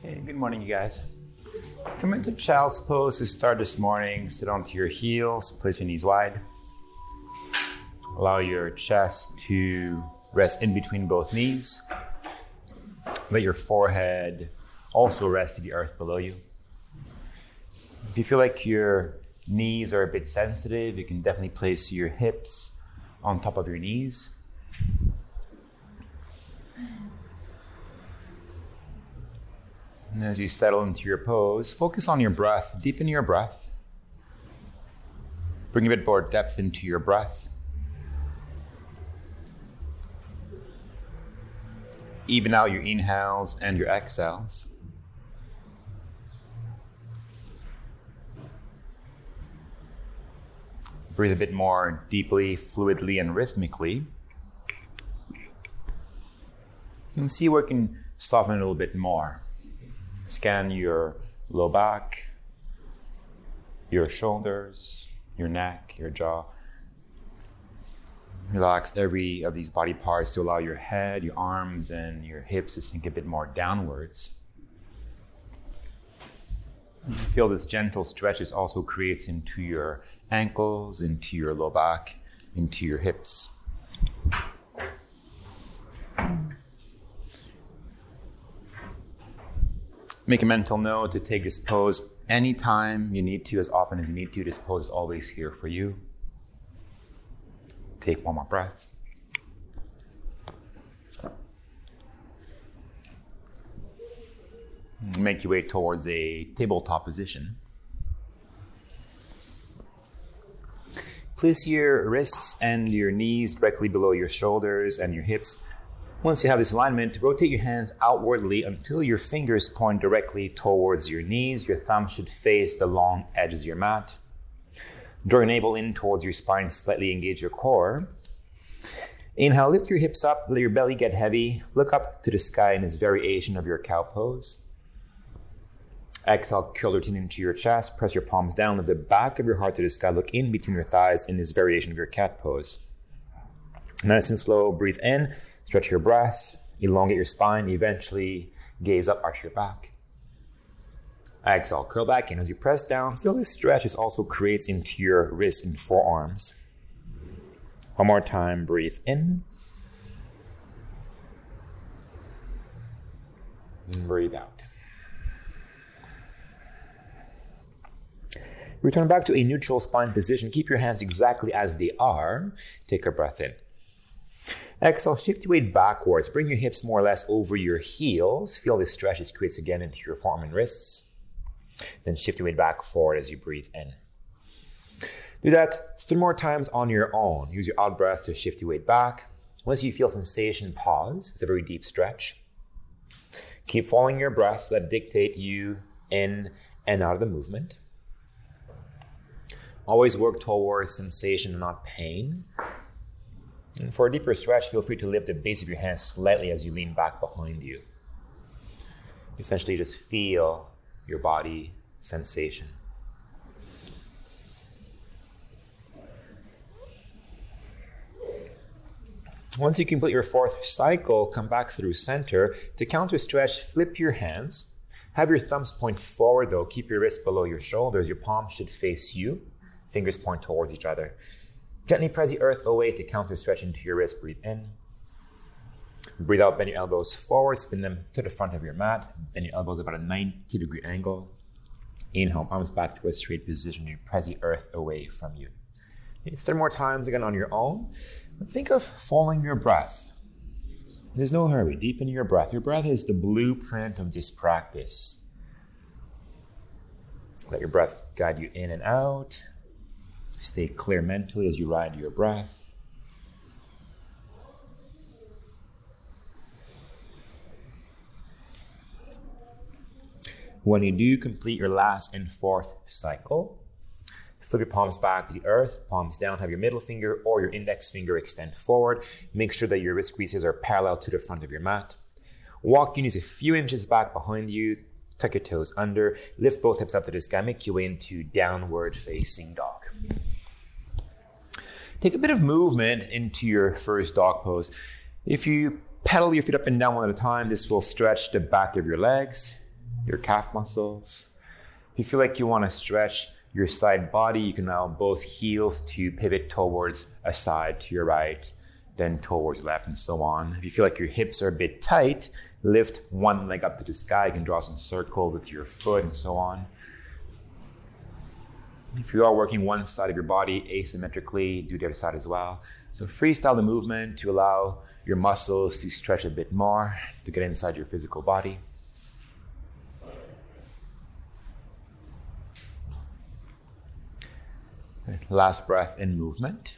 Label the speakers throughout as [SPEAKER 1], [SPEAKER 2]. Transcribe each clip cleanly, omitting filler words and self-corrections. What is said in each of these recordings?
[SPEAKER 1] Hey, good morning, you guys. Come into child's pose to start this morning. Sit onto your heels, place your knees wide. Allow your chest to rest in between both knees. Let your forehead also rest to the earth below you. If you feel like your knees are a bit sensitive, you can definitely place your hips on top of your knees. And as you settle into your pose, focus on your breath. Deepen your breath. Bring a bit more depth into your breath. Even out your inhales and your exhales. Breathe a bit more deeply, fluidly, and rhythmically. And see where you can soften it a little bit more. Scan your low back, your shoulders, your neck, your jaw. Relax every of these body parts to allow your head, your arms, and your hips to sink a bit more downwards. And feel this gentle stretch this also creates into your ankles, into your low back, into your hips. Make a mental note to take this pose anytime you need to, as often as you need to. This pose is always here for you. Take one more breath. Make your way towards a tabletop position. Place your wrists and your knees directly below your shoulders and your hips. Once you have this alignment, rotate your hands outwardly until your fingers point directly towards your knees. Your thumb should face the long edges of your mat. Draw your navel in towards your spine, slightly engage your core. Inhale, lift your hips up, let your belly get heavy. Look up to the sky in this variation of your cow pose. Exhale, curl your chin into your chest, press your palms down, lift the back of your heart to the sky, look in between your thighs in this variation of your cat pose. Nice and slow, breathe in. Stretch your breath, elongate your spine, eventually gaze up, arch your back. Exhale, curl back in. As you press down, feel this stretch this also creates into your wrists and forearms. One more time, breathe in. And breathe out. Return back to a neutral spine position. Keep your hands exactly as they are. Take a breath in. Exhale, shift your weight backwards. Bring your hips more or less over your heels. Feel this stretch this creates again into your forearm and wrists. Then shift your weight back forward as you breathe in. Do that 3 more times on your own. Use your out breath to shift your weight back. Once you feel sensation, pause. It's a very deep stretch. Keep following your breath. Let it dictate you in and out of the movement. Always work towards sensation, not pain. And for a deeper stretch, feel free to lift the base of your hands slightly as you lean back behind you. Essentially, just feel your body sensation. Once you complete your 4th cycle, come back through center. To counter stretch, flip your hands. Have your thumbs point forward though. Keep your wrists below your shoulders. Your palms should face you. Fingers point towards each other. Gently press the earth away to counter stretch into your wrist. Breathe in. Breathe out, bend your elbows forward, spin them to the front of your mat. Bend your elbows about a 90-degree angle. Inhale, palms back to a straight position. You press the earth away from you. 3 more times again on your own. Think of following your breath. There's no hurry. Deepen your breath. Your breath is the blueprint of this practice. Let your breath guide you in and out. Stay clear mentally as you ride your breath. When you do complete your last and 4th cycle, flip your palms back to the earth, palms down, have your middle finger or your index finger extend forward. Make sure that your wrist creases are parallel to the front of your mat. Walk your knees a few inches back behind you, tuck your toes under, lift both hips up to the sky, make your way into downward facing dog. Take a bit of movement into your first dog pose. If you pedal your feet up and down one at a time, this will stretch the back of your legs. your calf muscles. If you feel like you want to stretch your side body, you can allow both heels to pivot towards a side to your right, then towards left, and so on. If you feel like your hips are a bit tight, lift one leg up to the sky. You can draw some circle with your foot and so on. If you are working one side of your body asymmetrically, do the other side as well. So freestyle the movement to allow your muscles to stretch a bit more, to get inside your physical body. Last breath in movement.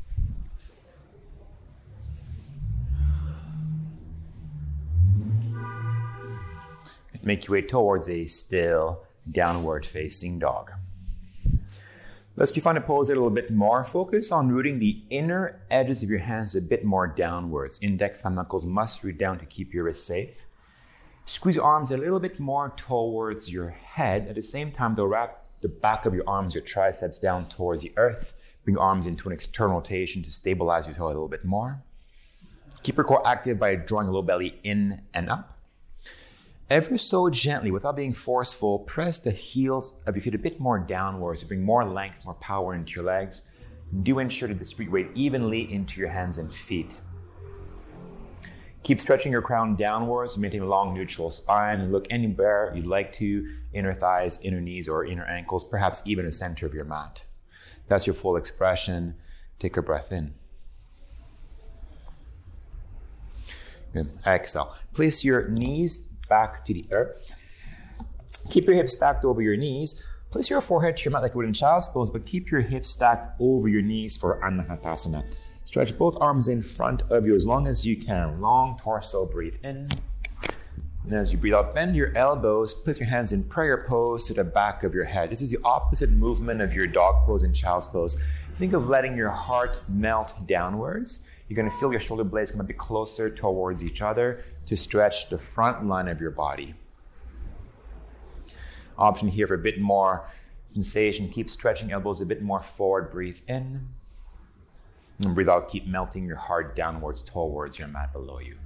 [SPEAKER 1] Make your way towards a still downward facing dog. Let's refine the pose a little bit more. Focus on rooting the inner edges of your hands a bit more downwards. Index thumb knuckles must root down to keep your wrist safe. Squeeze your arms a little bit more towards your head. At the same time, they'll wrap the back of your arms, your triceps down towards the earth. Bring your arms into an external rotation to stabilize your toe a little bit more. Keep your core active by drawing a low belly in and up. Ever so gently, without being forceful, press the heels of your feet a bit more downwards to bring more length, more power into your legs. Do ensure to distribute weight evenly into your hands and feet. Keep stretching your crown downwards, maintain a long neutral spine, and look anywhere you'd like to, inner thighs, inner knees, or inner ankles, perhaps even the center of your mat. That's your full expression. Take a breath in. Good. Exhale. Place your knees back to the earth. Keep your hips stacked over your knees. Place your forehead to your mat like you would in child's pose, but keep your hips stacked over your knees for Anahatasana. Stretch both arms in front of you as long as you can. Long torso, breathe in. And as you breathe out, bend your elbows, place your hands in prayer pose to the back of your head. This is the opposite movement of your dog pose and child's pose. Think of letting your heart melt downwards. You're going to feel your shoulder blades come a bit closer towards each other to stretch the front line of your body. Option here for a bit more sensation. Keep stretching elbows a bit more forward. Breathe in. And breathe out. Keep melting your heart downwards towards your mat below you.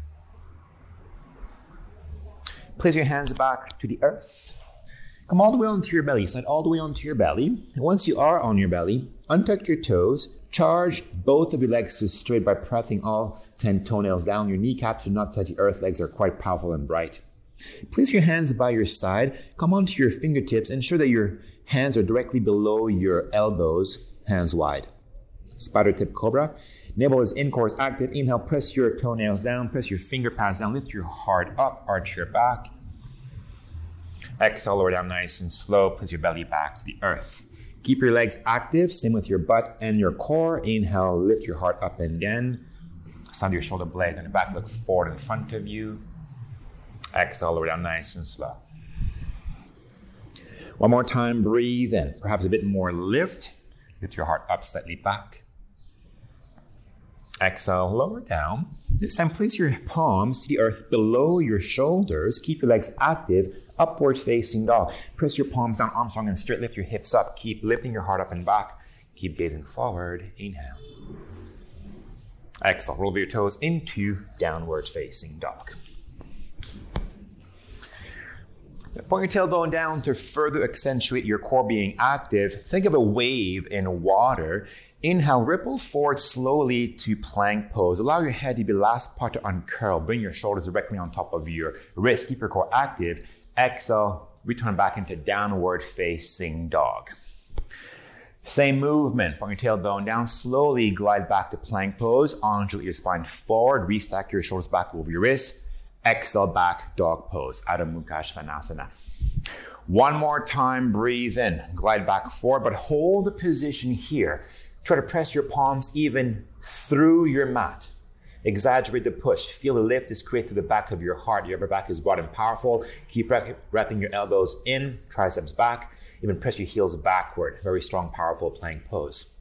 [SPEAKER 1] Place your hands back to the earth. Come all the way onto your belly. Slide all the way onto your belly. And once you are on your belly, untuck your toes. Charge both of your legs to straight by pressing all 10 toenails down. Your kneecaps do not touch the earth. Legs are quite powerful and bright. Place your hands by your side. Come onto your fingertips. Ensure that your hands are directly below your elbows, hands wide. Spider tip cobra. Navel is in, core is active. Inhale, press your toenails down. Press your finger pads down. Lift your heart up. Arch your back. Exhale, lower down nice and slow. Press your belly back to the earth. Keep your legs active, same with your butt and your core. Inhale, lift your heart up and again. Sound your shoulder blades on the back, look forward in front of you. Exhale, lower down nice and slow. One more time, breathe in. Perhaps a bit more lift. Lift your heart up slightly back. Exhale, lower down. This time, place your palms to the earth below your shoulders. Keep your legs active, upwards facing dog. Press your palms down, arms strong and straight. Lift your hips up. Keep lifting your heart up and back. Keep gazing forward. Inhale. Exhale, roll over your toes into downwards facing dog. Point your tailbone down to further accentuate your core being active. Think of a wave in water. Inhale, ripple forward slowly to plank pose. Allow your head to be the last part to uncurl. Bring your shoulders directly on top of your wrist. Keep your core active. Exhale, return back into downward facing dog. Same movement. Point your tailbone down. Slowly glide back to plank pose. Undulate your spine forward. Restack your shoulders back over your wrist. Exhale, back dog pose. Adho Mukha Svanasana. One more time, breathe in. Glide back forward, but hold the position here. Try to press your palms even through your mat. Exaggerate the push. Feel the lift is created through the back of your heart. Your upper back is broad and powerful. Keep wrapping your elbows in, triceps back. Even press your heels backward. Very strong, powerful plank pose.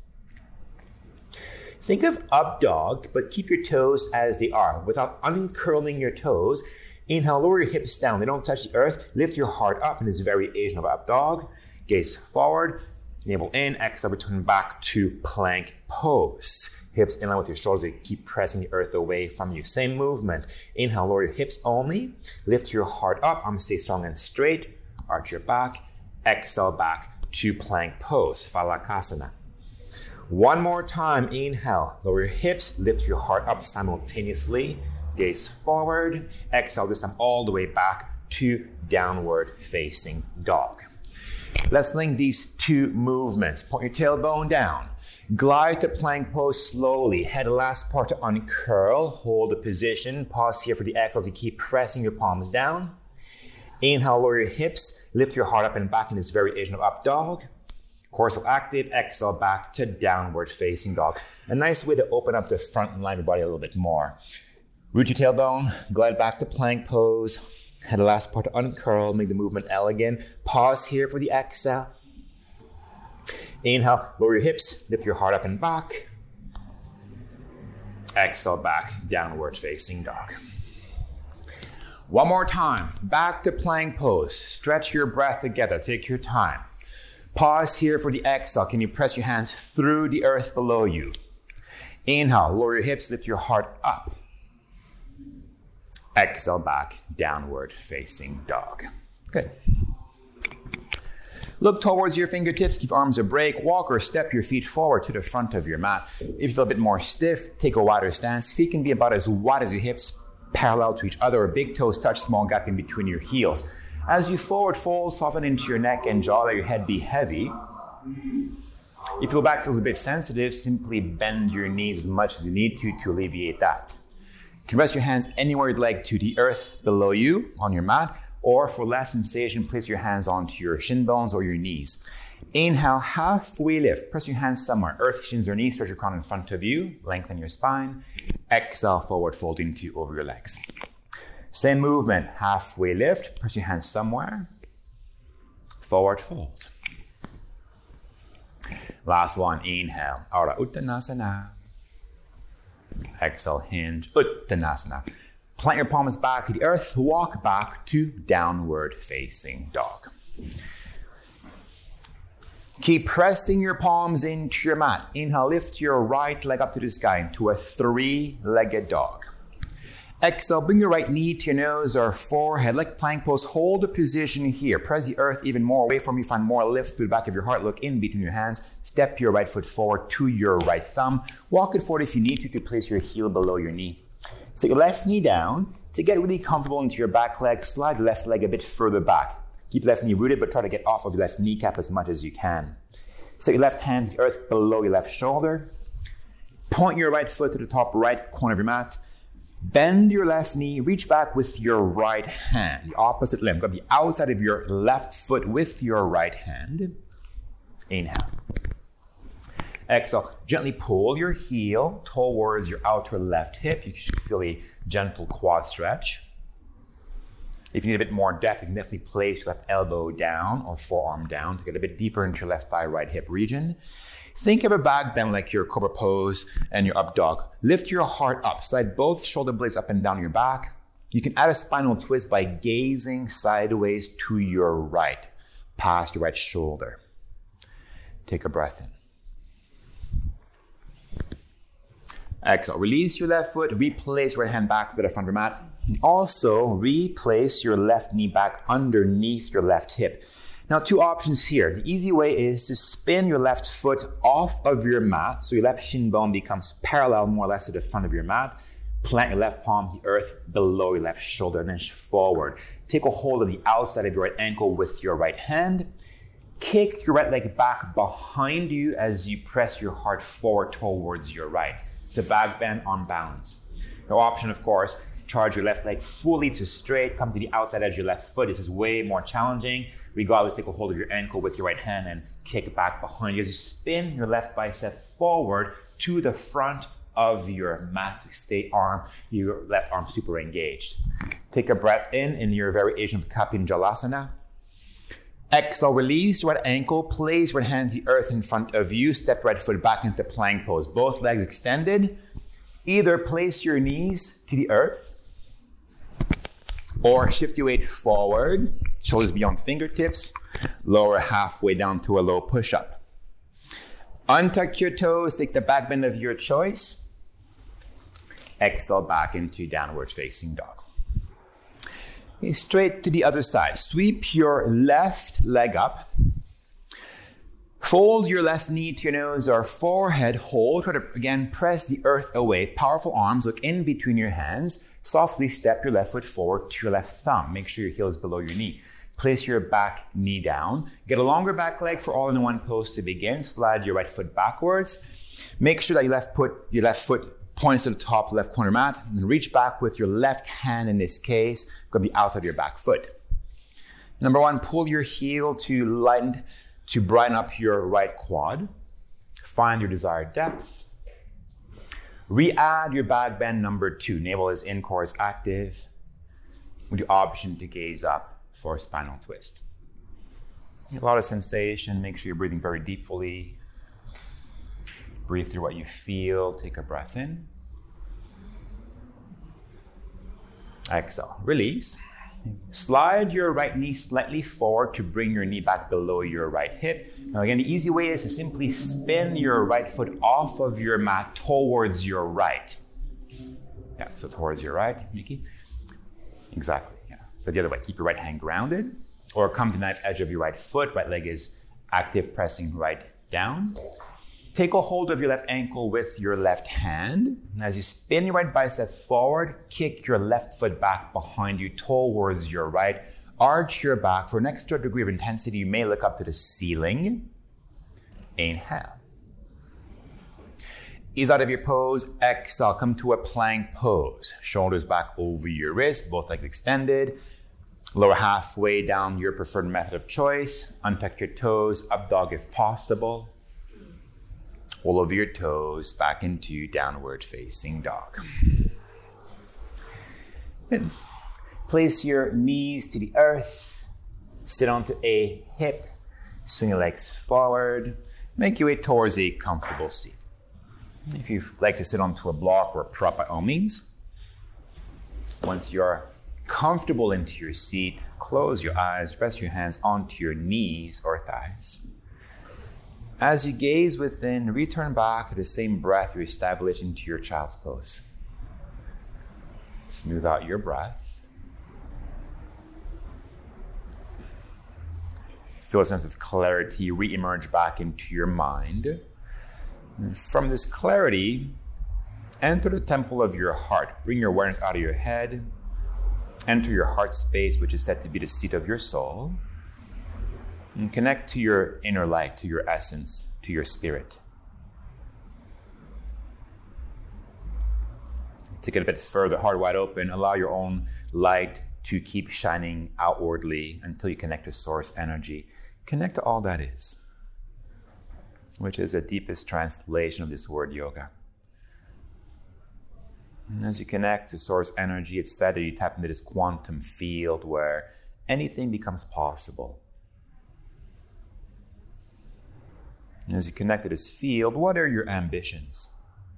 [SPEAKER 1] Think of up dog, but keep your toes as they are without uncurling your toes. Inhale, lower your hips down. They don't touch the earth. Lift your heart up in this variation of up dog. Gaze forward. Navel in, exhale, return back to plank pose. Hips in line with your shoulders. You keep pressing the earth away from you. Same movement. Inhale, lower your hips only. Lift your heart up. Arms stay strong and straight. Arch your back. Exhale back to plank pose, Phalakasana. One more time. Inhale, lower your hips. Lift your heart up simultaneously. Gaze forward. Exhale this time all the way back to downward facing dog. Let's link these two movements. Point your tailbone down. Glide to plank pose slowly. Head the last part to uncurl. Hold the position. Pause here for the exhale as you keep pressing your palms down. Inhale, lower your hips. Lift your heart up and back in this variation of up dog. Corsal active. Exhale back to downward facing dog. A nice way to open up the front line of your body a little bit more. Root your tailbone. Glide back to plank pose. Head the last part to uncurl, make the movement elegant. Pause here for the exhale. Inhale, lower your hips, lift your heart up and back. Exhale back, downward facing dog. One more time, back to plank pose. Stretch your breath together, take your time. Pause here for the exhale. Can you press your hands through the earth below you? Inhale, lower your hips, lift your heart up. Exhale back, downward facing dog. Good. Look towards your fingertips, give arms a break, walk or step your feet forward to the front of your mat. If you feel a bit more stiff, take a wider stance. Feet can be about as wide as your hips, parallel to each other, or big toes touch, small gap in between your heels. As you forward fold, soften into your neck and jaw, let your head be heavy. If your back feels a bit sensitive, simply bend your knees as much as you need to alleviate that. You can rest your hands anywhere you'd like to the earth below you on your mat, or for less sensation, place your hands onto your shin bones or your knees. Inhale, halfway lift. Press your hands somewhere. Earth, shins, or knees. Stretch your crown in front of you. Lengthen your spine. Exhale, forward fold into over your legs. Same movement. Halfway lift. Press your hands somewhere. Forward fold. Last one. Inhale. Ardha Uttanasana. Exhale, hinge, Uttanasana. Plant your palms back to the earth. Walk back to downward facing dog. Keep pressing your palms into your mat. Inhale, lift your right leg up to the sky into a three-legged dog. Exhale, bring your right knee to your nose or forehead. Like plank pose, hold the position here. Press the earth even more away from you. Find more lift through the back of your heart. Look in between your hands. Step your right foot forward to your right thumb. Walk it forward if you need to place your heel below your knee. Set your left knee down. To get really comfortable into your back leg, slide your left leg a bit further back. Keep left knee rooted, but try to get off of your left kneecap as much as you can. Set your left hand to the earth below your left shoulder. Point your right foot to the top right corner of your mat. Bend your left knee, reach back with your right hand, the opposite limb. Grab the outside of your left foot with your right hand. Inhale. Exhale. Gently pull your heel towards your outer left hip. You should feel a gentle quad stretch. If you need a bit more depth, you can definitely place your left elbow down or forearm down to get a bit deeper into your left thigh, right hip region. Think of a back bend like your cobra pose and your up dog. Lift your heart up. Slide both shoulder blades up and down your back. You can add a spinal twist by gazing sideways to your right, past your right shoulder. Take a breath in. Exhale. Release your left foot. Replace your right hand back to the front of your mat. Also, replace your left knee back underneath your left hip. Now, two options here. The easy way is to spin your left foot off of your mat so your left shin bone becomes parallel more or less to the front of your mat. Plant your left palm to the earth below your left shoulder and then forward. Take a hold of the outside of your right ankle with your right hand. Kick your right leg back behind you as you press your heart forward towards your right. It's a back bend on balance. No option, of course, charge your left leg fully to straight, come to the outside edge of your left foot. This is way more challenging. Regardless, take a hold of your ankle with your right hand and kick back behind you as you spin your left bicep forward to the front of your mat to stay your left arm super engaged. Take a breath in your variation of Kapin Jalasana. Exhale, release your right ankle, place your right hand to the earth in front of you, step right foot back into plank pose. Both legs extended. Either place your knees to the earth or shift your weight forward, shoulders beyond fingertips, lower halfway down to a low push-up. Untuck your toes, take the back bend of your choice. Exhale back into downward facing dog. Okay, straight to the other side. Sweep your left leg up. Fold your left knee to your nose or forehead. Hold. Try to, again, press the earth away. Powerful arms. Look in between your hands. Softly step your left foot forward to your left thumb. Make sure your heel is below your knee. Place your back knee down. Get a longer back leg for all-in-one pose to begin. Slide your right foot backwards. Make sure that your left foot points to the top left corner mat. And then reach back with your left hand, in this case, grab the outside of your back foot. Number one, pull your heel to brighten up your right quad. Find your desired depth. Re-add your back bend number 2. Navel is in, core is active, with the option to gaze up for a spinal twist. A lot of sensation. Make sure you're breathing very deeply. Breathe through what you feel. Take a breath in. Exhale. Release. Slide your right knee slightly forward to bring your knee back below your right hip. Now again, the easy way is to simply spin your right foot off of your mat towards your right. Yeah, so towards your right, Miki. Exactly, yeah. So the other way, keep your right hand grounded, or come to the knife edge of your right foot. Right leg is active, pressing right down. Take a hold of your left ankle with your left hand. And as you spin your right bicep forward, kick your left foot back behind you towards your right. Arch your back. For an extra degree of intensity, you may look up to the ceiling. Inhale. Ease out of your pose. Exhale. Come to a plank pose. Shoulders back over your wrist, both legs extended. Lower halfway down your preferred method of choice. Untuck your toes. Up dog if possible. All of your toes back into downward facing dog. Good. Place your knees to the earth. Sit onto a hip. Swing your legs forward. Make your way towards a comfortable seat. If you'd like to sit onto a block or a prop, by all means. Once you're comfortable into your seat, close your eyes, rest your hands onto your knees or thighs. As you gaze within, return back to the same breath you establish into your child's pose. Smooth out your breath. Feel a sense of clarity re-emerge back into your mind. And from this clarity, enter the temple of your heart. Bring your awareness out of your head. Enter your heart space, which is said to be the seat of your soul. And connect to your inner light, to your essence, to your spirit. Take it a bit further, heart wide open. Allow your own light to keep shining outwardly until you connect to source energy. Connect to all that is, which is the deepest translation of this word yoga. And as you connect to source energy, it's said that you tap into this quantum field where anything becomes possible. And as you connect to this field, what are your ambitions?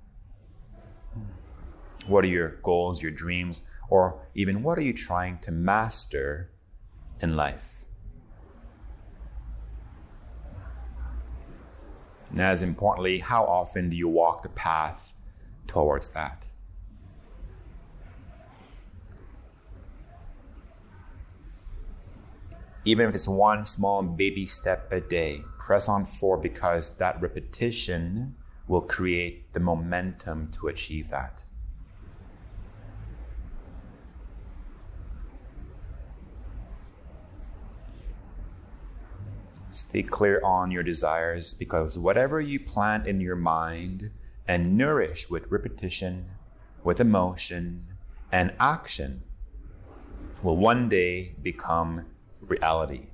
[SPEAKER 1] What are your goals, your dreams, or even what are you trying to master in life? And as importantly, how often do you walk the path towards that? Even if it's one small baby step a day, press on forward because that repetition will create the momentum to achieve that. Stay clear on your desires because whatever you plant in your mind and nourish with repetition, with emotion, and action will one day become reality.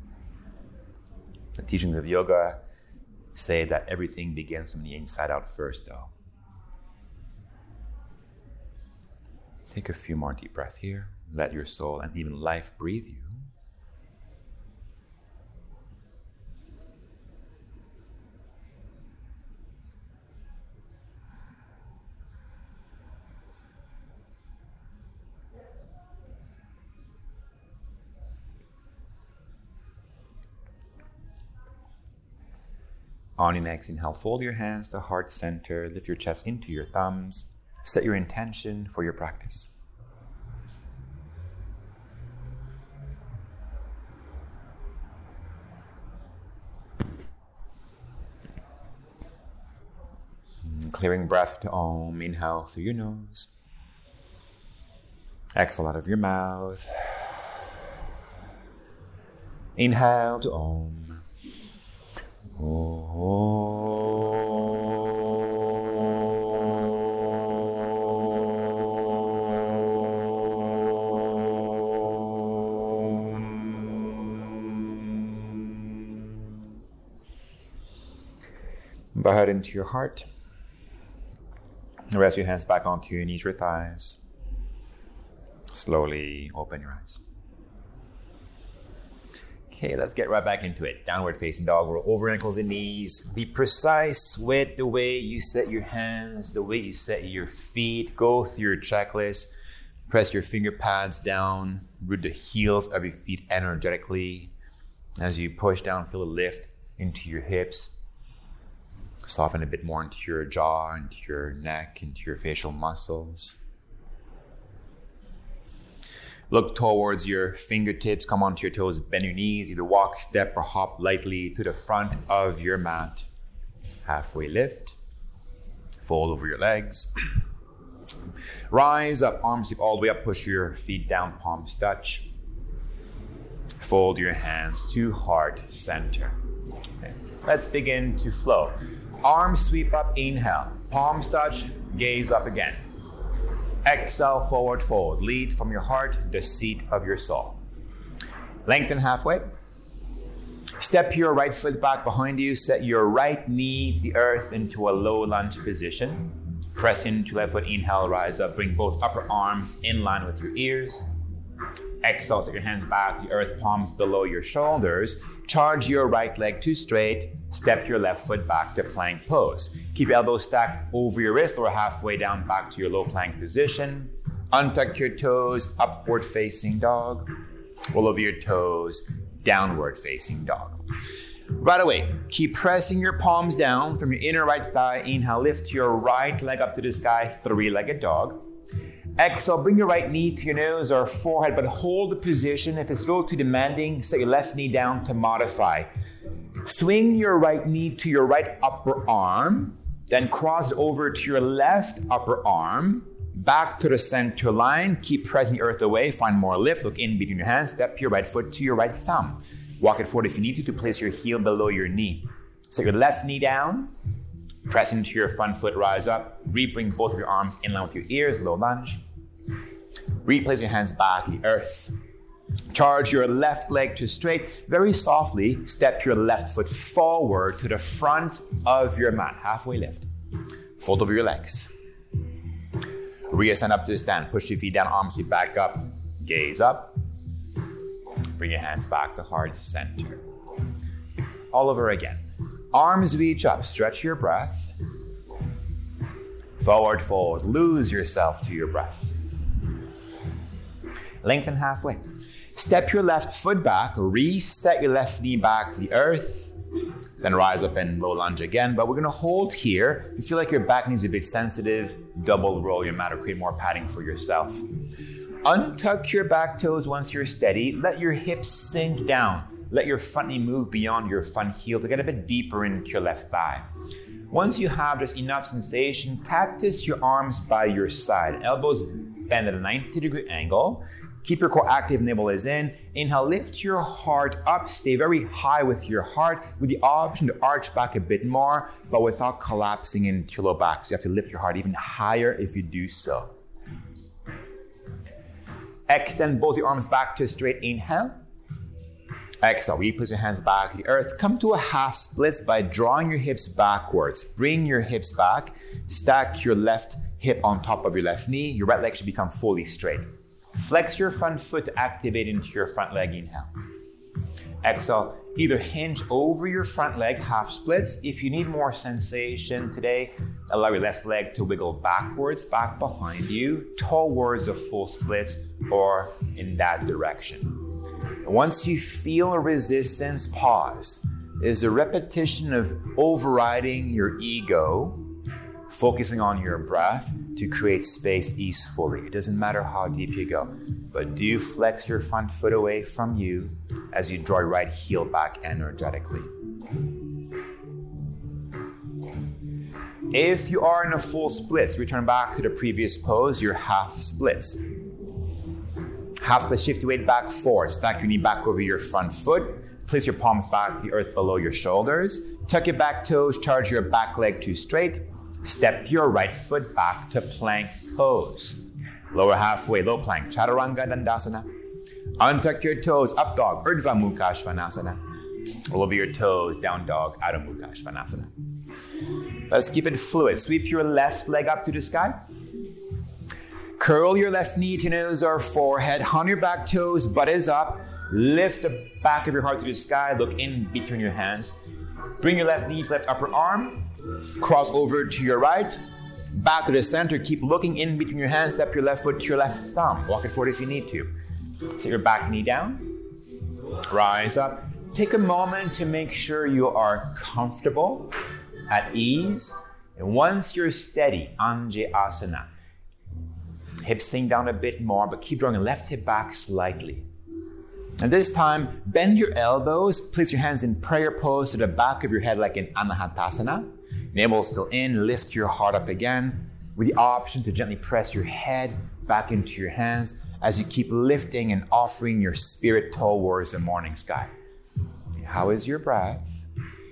[SPEAKER 1] The teachings of yoga say that everything begins from the inside out first, though. Take a few more deep breaths here. Let your soul and even life breathe you. On your next inhale, fold your hands to heart center, lift your chest into your thumbs, set your intention for your practice. Clearing breath to Om. Inhale through your nose. Exhale out of your mouth. Inhale to Om. Bow head into your heart. Rest your hands back onto your knees or thighs. Slowly open your eyes. Okay, let's get right back into it. Downward facing dog. Roll over ankles and knees. Be precise with the way you set your hands, the way you set your feet. Go through your checklist. Press your finger pads down. Root the heels of your feet energetically. As you push down, feel a lift into your hips. Soften a bit more into your jaw, into your neck, into your facial muscles. Look towards your fingertips, come onto your toes, bend your knees, either walk, step, or hop lightly to the front of your mat. Halfway lift, fold over your legs. Rise up, arms all the way up, push your feet down, palms touch. Fold your hands to heart center. Okay. Let's begin to flow. Arms sweep up, inhale. Palms touch, gaze up again. Exhale, forward fold. Lead from your heart, the seat of your soul. Lengthen halfway. Step your right foot back behind you. Set your right knee to the earth into a low lunge position. Press into left foot, inhale, rise up. Bring both upper arms in line with your ears. Exhale, set your hands back to the earth, palms below your shoulders. Charge your right leg to straight. Step your left foot back to plank pose. Keep your elbows stacked over your wrist or halfway down back to your low plank position. Untuck your toes, upward facing dog. Roll over your toes, downward facing dog. Right away, keep pressing your palms down from your inner right thigh. Inhale, lift your right leg up to the sky, three-legged dog. Exhale, bring your right knee to your nose or forehead, but hold the position. If it's a little too demanding, set your left knee down to modify. Swing your right knee to your right upper arm, then cross it over to your left upper arm, back to the center line. Keep pressing the earth away, find more lift, look in between your hands, step your right foot to your right thumb. Walk it forward if you need to place your heel below your knee. Set your left knee down, press into your front foot, rise up, bring both of your arms in line with your ears, low lunge. Replace your hands back to the earth. Charge your left leg to straight. Very softly, step your left foot forward to the front of your mat. Halfway lift. Fold over your legs. Reascend up to the stand. Push your feet down, arms sweep back up. Gaze up. Bring your hands back to heart center. All over again. Arms reach up. Stretch your breath. Forward fold. Lose yourself to your breath. Lengthen halfway. Step your left foot back, reset your left knee back to the earth, then rise up and low lunge again. But we're going to hold here. If you feel like your back knee is a bit sensitive, double roll your mat or create more padding for yourself. Untuck your back toes once you're steady. Let your hips sink down. Let your front knee move beyond your front heel to get a bit deeper into your left thigh. Once you have just enough sensation, practice your arms by your side. Elbows bend at a 90-degree angle. Keep your core active, navel is in. Inhale, lift your heart up. Stay very high with your heart with the option to arch back a bit more, but without collapsing into your low back. So you have to lift your heart even higher if you do so. Extend both your arms back to a straight inhale. Exhale, replace your hands back to the earth. Come to a half splits by drawing your hips backwards. Bring your hips back. Stack your left hip on top of your left knee. Your right leg should become fully straight. Flex your front foot to activate into your front leg. Inhale. Exhale. Either hinge over your front leg, half splits. If you need more sensation today, allow your left leg to wiggle backwards, back behind you, towards the full splits, or in that direction. Once you feel a resistance, pause. is a repetition of overriding your ego, focusing on your breath to create space easefully. It doesn't matter how deep you go, but do you flex your front foot away from you as you draw your right heel back energetically. If you are in a full splits, return back to the previous pose, your half splits. Half split, shift your weight back forward. Stack your knee back over your front foot. Place your palms back to the earth below your shoulders. Tuck your back toes, charge your back leg to straight. Step your right foot back to plank pose. Lower halfway, low plank, Chaturanga Dandasana. Untuck your toes, up dog, Urdhva Mukha Svanasana. Roll over your toes, down dog, Adho Mukha Svanasana. Let's keep it fluid. Sweep your left leg up to the sky. Curl your left knee to nose or forehead. On your back toes, butt is up. Lift the back of your heart to the sky. Look in between your hands. Bring your left knee to left upper arm. Cross over to your right. Back to the center. Keep looking in between your hands. Step your left foot to your left thumb. Walk it forward if you need to. Set your back knee down. Rise up. Take a moment to make sure you are comfortable, at ease. And once you're steady, Anjayasana. Hips sink down a bit more, but keep drawing your left hip back slightly. And this time, bend your elbows. Place your hands in prayer pose to the back of your head like in Anahatasana. Navel still in. Lift your heart up again with the option to gently press your head back into your hands as you keep lifting and offering your spirit towards the morning sky. How is your breath?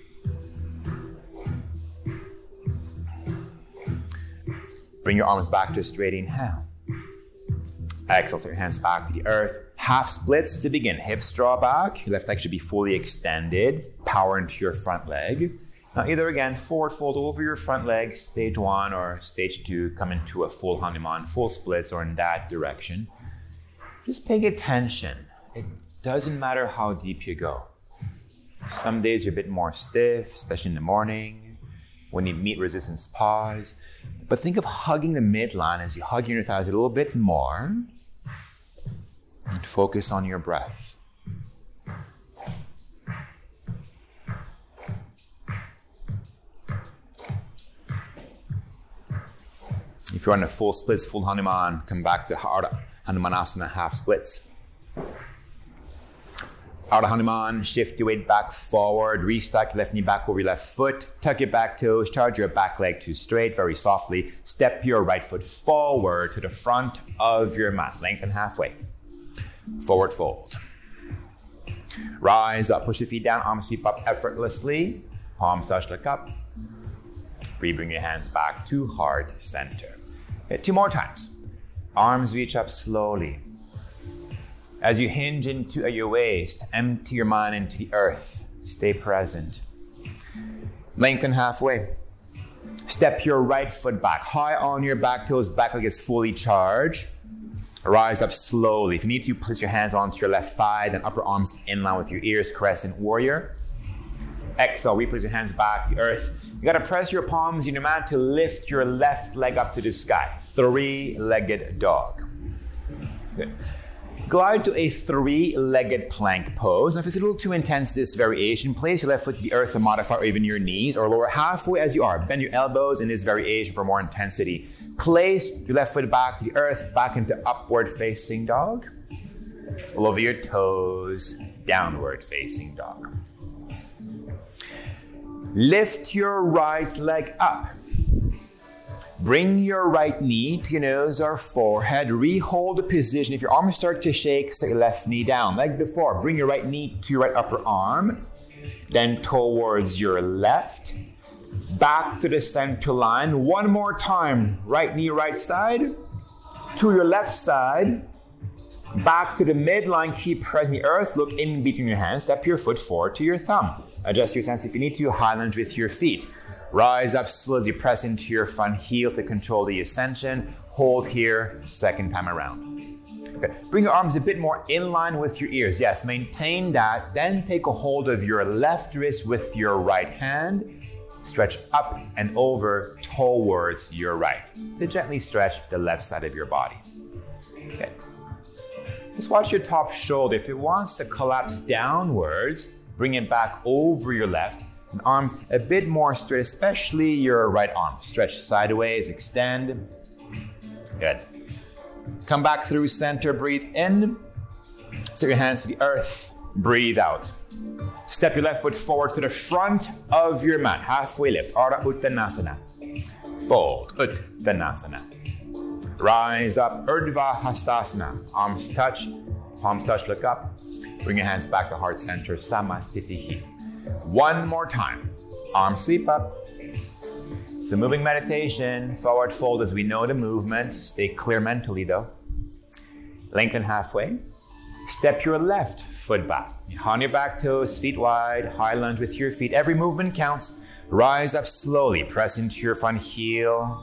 [SPEAKER 1] Bring your arms back to a straight inhale. Exhale, set your hands back to the earth. Half splits to begin. Hips draw back. Your left leg should be fully extended. Power into your front leg. Now either again, forward fold over your front leg, stage 1 or stage 2, come into a full Hanuman, full splits or in that direction. Just pay attention. It doesn't matter how deep you go. Some days you're a bit more stiff, especially in the morning, when you meet resistance, pause. But think of hugging the midline as you hug your inner thighs a little bit more. And focus on your breath. If you're on a full splits, full Hanuman, come back to Ardha Hanumanasana, half splits. Ardha Hanuman, shift your weight back forward, restack your left knee back over your left foot, tuck your back toes, charge your back leg to straight, very softly. Step your right foot forward to the front of your mat, lengthen halfway. Forward fold. Rise up, push your feet down, arms sweep up effortlessly. Palms touch the cup. Bring your hands back to heart center. Okay, 2 more times. Arms reach up slowly. As you hinge into your waist, empty your mind into the earth. Stay present. Lengthen halfway. Step your right foot back. High on your back toes, back leg is fully charged. Rise up slowly. If you need to, place your hands onto your left thigh, then upper arms in line with your ears, crescent warrior. Exhale, replace your hands back to the earth. You gotta press your palms in your mat to lift your left leg up to the sky. 3-legged dog. Good. Glide to a 3-legged plank pose. Now, if it's a little too intense, this variation, place your left foot to the earth to modify, or even your knees, or lower halfway as you are. Bend your elbows in this variation for more intensity. Place your left foot back to the earth, back into upward facing dog. Roll over your toes, downward facing dog. Lift your right leg up. Bring your right knee to your nose or forehead. Rehold the position. If your arms start to shake, set your left knee down. Like before, bring your right knee to your right upper arm. Then towards your left. Back to the center line. One more time. Right knee, right side. To your left side. Back to the midline. Keep pressing the earth. Look in between your hands. Step your foot forward to your thumb. Adjust your stance if you need to. High lunge with your feet. Rise up slowly, press into your front heel to control the ascension. Hold here, second time around. Okay. Bring your arms a bit more in line with your ears. Yes, maintain that. Then take a hold of your left wrist with your right hand. Stretch up and over towards your right. To gently stretch the left side of your body. Okay. Just watch your top shoulder. If it wants to collapse downwards, Bring it back over your left. And arms a bit more straight, especially your right arm. Stretch sideways, extend. Good. Come back through center, breathe in. Set your hands to the earth, breathe out. Step your left foot forward to the front of your mat. Halfway lift, Ardha Uttanasana. Fold, Uttanasana. Rise up, Urdhva Hastasana. Arms touch, palms touch, look up. Bring your hands back to heart center, Samastitihi. One more time. Arms sweep up. It's a moving meditation. Forward fold as we know the movement. Stay clear mentally though. Lengthen halfway. Step your left foot back. On your back toes, feet wide, high lunge with your feet. Every movement counts. Rise up slowly. Press into your front heel.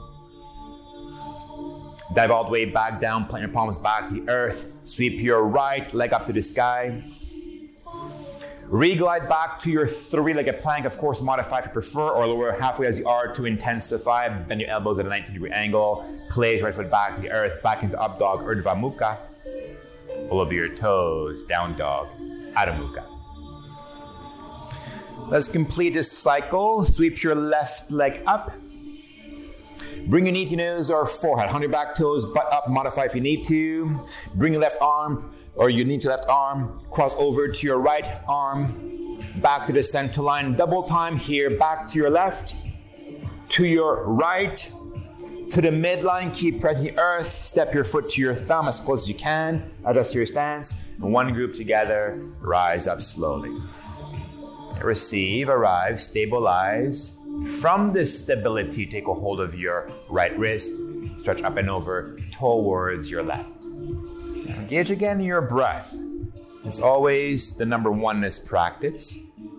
[SPEAKER 1] Dive all the way back down. Plant your palms back to the earth. Sweep your right leg up to the sky. Reglide back to your three-legged plank. Of course, modify if you prefer, or lower halfway as you are to intensify. Bend your elbows at a 90-degree angle. Place right foot back to the earth. Back into up dog, Urdhva Mukha. Pull over your toes, down dog, Adho Mukha. Let's complete this cycle. Sweep your left leg up. Bring your knee to nose or forehead. On your back toes, butt up, modify if you need to. Bring your left arm or your knee to left arm. Cross over to your right arm. Back to the center line. Double time here. Back to your left. To your right. To the midline. Keep pressing the earth. Step your foot to your thumb as close as you can. Adjust your stance. One group together. Rise up slowly. Receive, arrive, stabilize. From this stability, take a hold of your right wrist. Stretch up and over towards your left. Engage again in your breath. It's always the number one in this practice.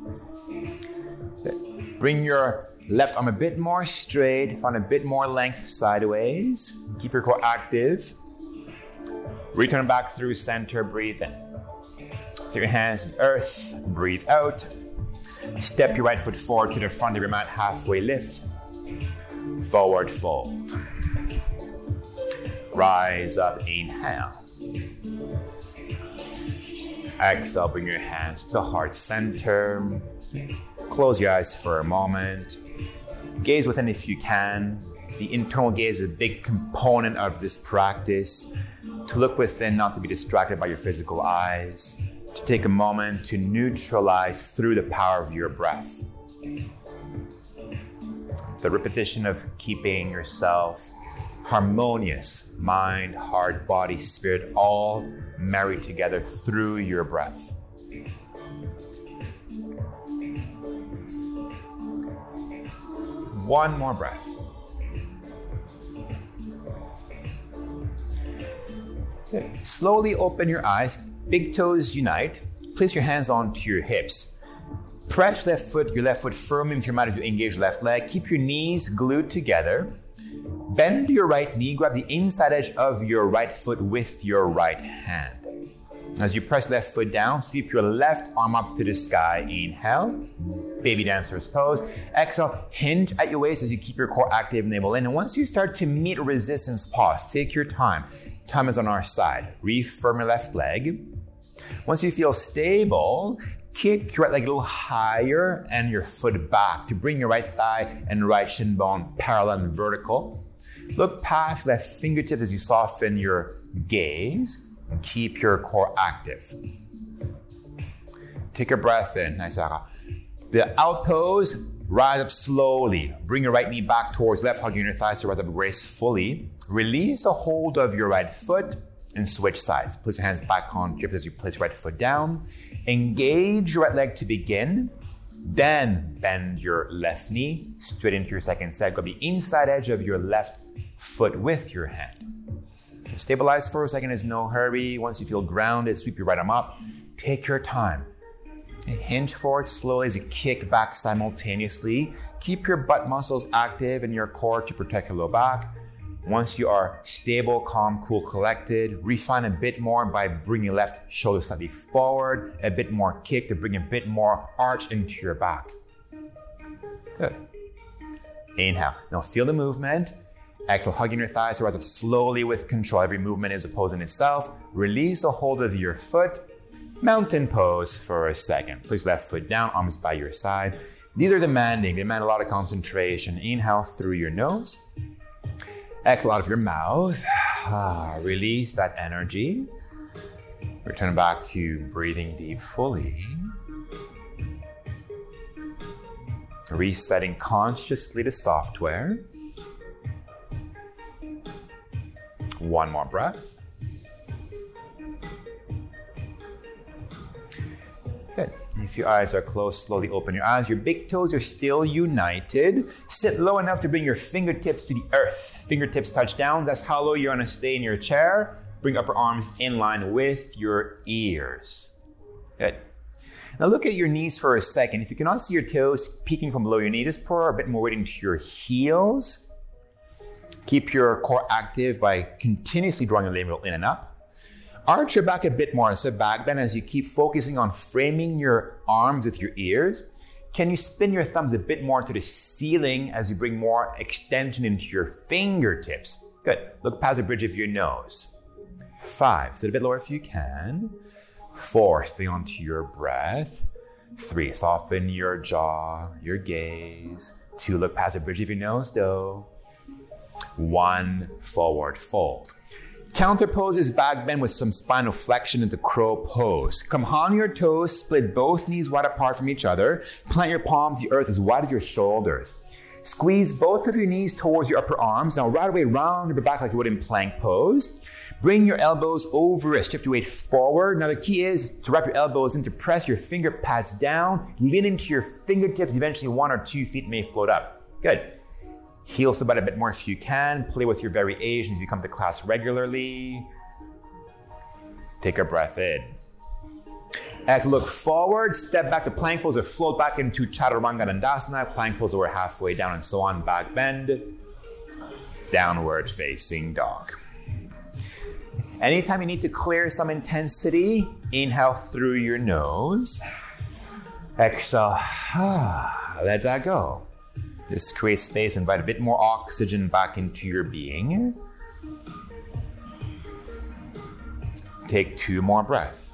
[SPEAKER 1] Bring your left arm a bit more straight, find a bit more length sideways. Keep your core active. Return back through center, breathe in. Take your hands to earth, breathe out. Step your right foot forward to the front of your mat, halfway lift. Forward fold. Rise up, inhale. Exhale, bring your hands to heart center. Close your eyes for a moment. Gaze within if you can. The internal gaze is a big component of this practice. To look within, not to be distracted by your physical eyes. To take a moment to neutralize through the power of your breath. The repetition of keeping yourself harmonious, mind, heart, body, spirit, all married together through your breath. One more breath. Good. Slowly open your eyes. Big toes unite. Place your hands onto your hips. Press your left foot firmly into your mat as you engage left leg. Keep your knees glued together. Bend your right knee. Grab the inside edge of your right foot with your right hand. As you press left foot down, sweep your left arm up to the sky. Inhale. Baby dancer's pose. Exhale. Hinge at your waist as you keep your core active. Navel in. And once you start to meet resistance, pause. Take your time. Time is on our side. Refirm your left leg. Once you feel stable, kick your right leg a little higher and your foot back to bring your right thigh and right shin bone parallel and vertical. Look past left fingertips as you soften your gaze and keep your core active. Take a breath in. Nice. The out pose, rise up slowly. Bring your right knee back towards left, hugging your thighs to rise up gracefully. Release the hold of your right foot and switch sides. Place your hands back on hips as you place your right foot down. Engage your right leg to begin. Then bend your left knee straight into your second set. Grab the inside edge of your left foot with your hand. Stabilize for a second, there's no hurry. Once you feel grounded, sweep your right arm up. Take your time. Hinge forward slowly as you kick back simultaneously. Keep your butt muscles active and your core to protect your low back. Once you are stable, calm, cool, collected, refine a bit more by bringing left shoulder slightly forward, a bit more kick to bring a bit more arch into your back. Good. Inhale. Now feel the movement. Exhale, hugging your thighs to rise up slowly with control. Every movement is a pose in itself. Release the hold of your foot. Mountain pose for a second. Place left foot down, arms by your side. These are demanding. They demand a lot of concentration. Inhale through your nose. Exhale out of your mouth. Release that energy. Return back to breathing deep fully. Resetting consciously the software. One more breath. Good. If your eyes are closed, slowly open your eyes. Your big toes are still united. Sit low enough to bring your fingertips to the earth. Fingertips touch down. That's how low you're going to stay in your chair. Bring upper arms in line with your ears. Good. Now look at your knees for a second. If you cannot see your toes peeking from below your knee, just pour a bit more weight into your heels. Keep your core active by continuously drawing your labral in and up. Arch your back a bit more. So back bend as you keep focusing on framing your arms with your ears. Can you spin your thumbs a bit more to the ceiling as you bring more extension into your fingertips? Good. Look past the bridge of your nose. 5. Sit a bit lower if you can. 4. Stay onto your breath. 3. Soften your jaw, your gaze. 2. Look past the bridge of your nose, though. 1. Forward fold. Counter pose is back bend with some spinal flexion into crow pose. Come on your toes, split both knees wide apart from each other. Plant your palms to the earth as wide as your shoulders. Squeeze both of your knees towards your upper arms. Now right away round your back like you would in plank pose. Bring your elbows over wrist. Shift your weight forward. Now the key is to wrap your elbows in, to press your finger pads down. Lean into your fingertips. Eventually 1 or 2 feet may float up. Good. Heels to butt a bit more if you can. Play with your variations if you come to class regularly. Take a breath in. Exhale, look forward. Step back to plank pose or float back into Chaturanga Dandasana. Plank pose over halfway down and so on. Back bend. Downward facing dog. Anytime you need to clear some intensity, inhale through your nose. Exhale. Let that go. This creates space, invite a bit more oxygen back into your being. Take 2 more breaths.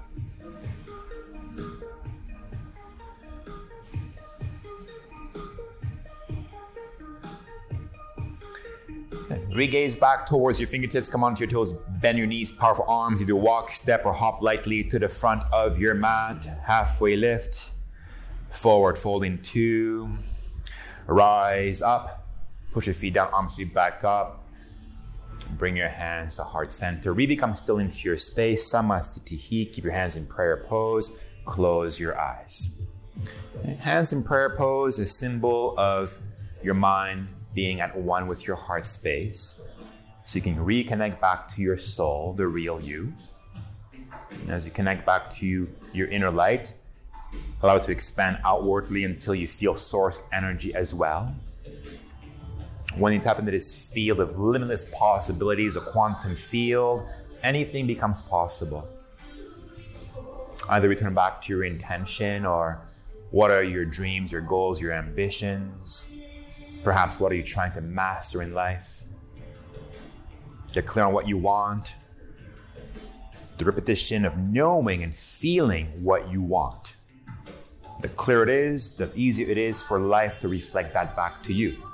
[SPEAKER 1] Re-gaze back towards your fingertips. Come onto your toes. Bend your knees. Powerful arms. Either walk, step, or hop lightly to the front of your mat. Halfway lift. Forward folding 2. Rise up. Push your feet down. Arms sweep back up. Bring your hands to heart center. Really come still into your space. Samasthiti. Keep your hands in prayer pose. Close your eyes. Hands in prayer pose, a symbol of your mind being at one with your heart space. So you can reconnect back to your soul, the real you. And as you connect back to your inner light, allow it to expand outwardly until you feel source energy as well. When you tap into this field of limitless possibilities, a quantum field, anything becomes possible. Either return back to your intention, or what are your dreams, your goals, your ambitions? Perhaps what are you trying to master in life? Get clear on what you want. The repetition of knowing and feeling what you want. The clearer it is, the easier it is for life to reflect that back to you.